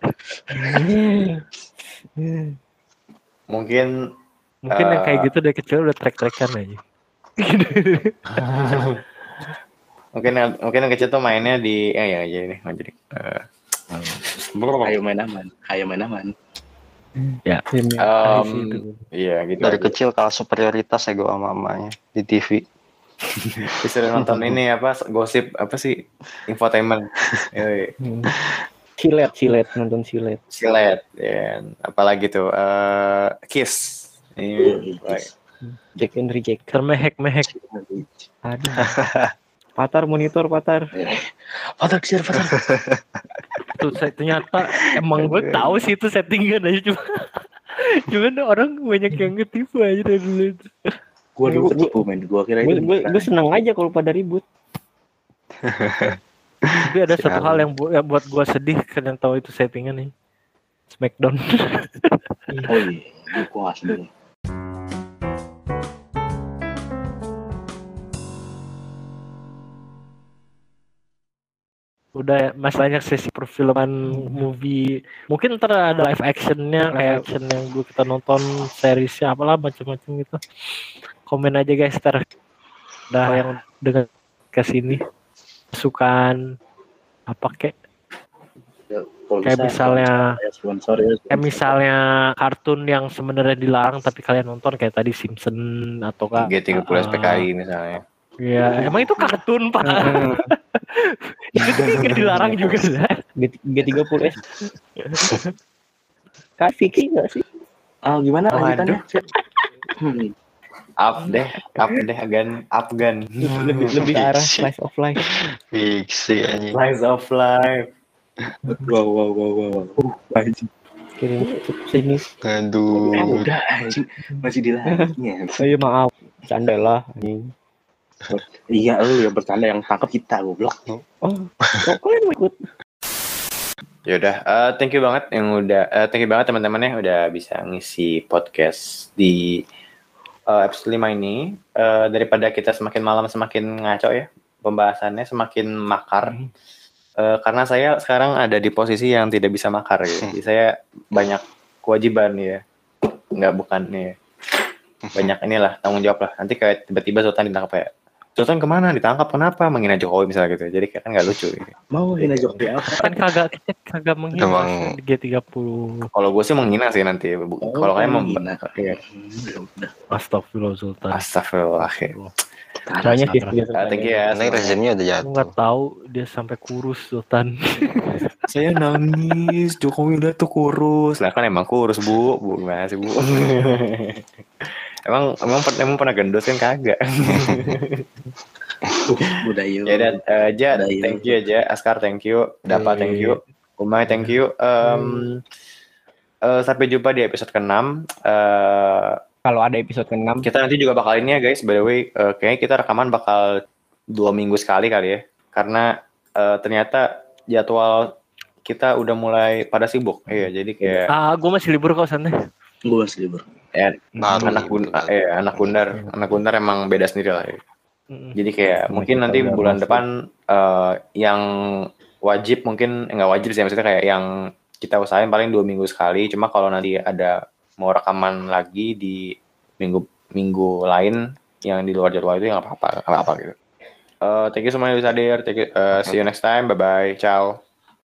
Mungkin yang kayak gitu dari kecil udah trek-trekan aja. Mungkin yang kecil tuh mainnya di jadi. Ayo main aman. Ya. Iya gitu. Dari kecil kalah superioritas ya gue sama mamanya di TV. Bisa nonton ini apa gosip apa sih infotainment. Silet nonton silet. Silet ya. Apalagi tuh Kiss. Jack and Reject. Termehek. Aduh. Patar monitor. Patar. Tuh ternyata emang gue tahu sih itu settingan aja cuman orang banyak yang ketipu aja dari dulu itu. Gue dulu ketipu men. Gue kira itu. Gue seneng aja kalau pada ribut. Tapi ada satu hal yang buat gue sedih karena tahu itu settingan nih. Smackdown. Oh iya, gue gak sedih. Udah masih banyak sesi perfilman movie. Mungkin ntar ada live actionnya kayak action yang kita nonton seriesnya apalah macam-macam gitu. Komen aja guys ntar. Udah yang dengan kesini masukan apa kek? Kayak misalnya sponsor ya. Kayak misalnya kartun yang sebenarnya dilarang tapi kalian nonton kayak tadi Simpson atau G30 SPKI misalnya. Iya, emang itu kartun Pak. Itu tuh nggak dilarang juga lah. G30S. Kak Vicky nggak sih? Gimana lanjutannya? Up deh Afgan. Lebih ke arah slice of life. Fiksi anjing. Slice of life. Wow. Anjing. Kirim sini. Aduh. Udah anjing masih dilarinya. Iya maaf, canda lah anjing. Iya lu yang bercanda yang tangkap kita goblok. Oh, kalian mau ikut? Ya udah, thank you banget teman-teman ya udah bisa ngisi podcast di episode 5 ini. Daripada kita semakin malam semakin ngaco ya, pembahasannya semakin makar. Karena saya sekarang ada di posisi yang tidak bisa makar gitu. Jadi saya banyak kewajiban ya. Bukan nih. Banyak inilah tanggung jawab lah. Nanti kayak tiba-tiba Sultan ditangkap ya. Sultan kemana? Ditangkap kenapa? Menghina Jokowi misalnya gitu. Jadi kan nggak lucu gitu. Mau hina Jokowi apa? Kan kagak menghina di G30. Kalau gue sih menghina sih nanti. Kalau kalian menghina. Iya. Astagfirullah Sultan. Astagfirullah. Caranya sih. Thank you ya. Karena rezimnya udah jatuh. Nggak tahu dia sampai kurus Sultan. Saya nangis. Jokowi udah tuh kurus. Lah kan emang kurus bu gimana sih bu? Emang pernah gendut kan kagak. Udah yuk. Ya dan thank you aja. Askar thank you. Dapa thank you. Umay thank you. Sampai jumpa di episode ke-6. Kalau ada episode ke-6 kita nanti juga bakal ini ya guys. By the way, kayaknya kita rekaman bakal 2 minggu sekali kali ya. Karena ternyata jadwal kita udah mulai pada sibuk. Iya, jadi kayak gue masih libur kok santai. Gue masih libur. Anak Gundar emang beda sendiri lah. Jadi kayak mungkin nanti bulan depan yang wajib mungkin nggak wajib sih, maksudnya kayak yang kita usahain paling 2 minggu sekali. Cuma kalau nanti ada mau rekaman lagi di minggu lain yang di luar jadwal itu ya nggak apa-apa gitu. Thank you semuanya udah hadir. See you next time. Bye bye. Ciao.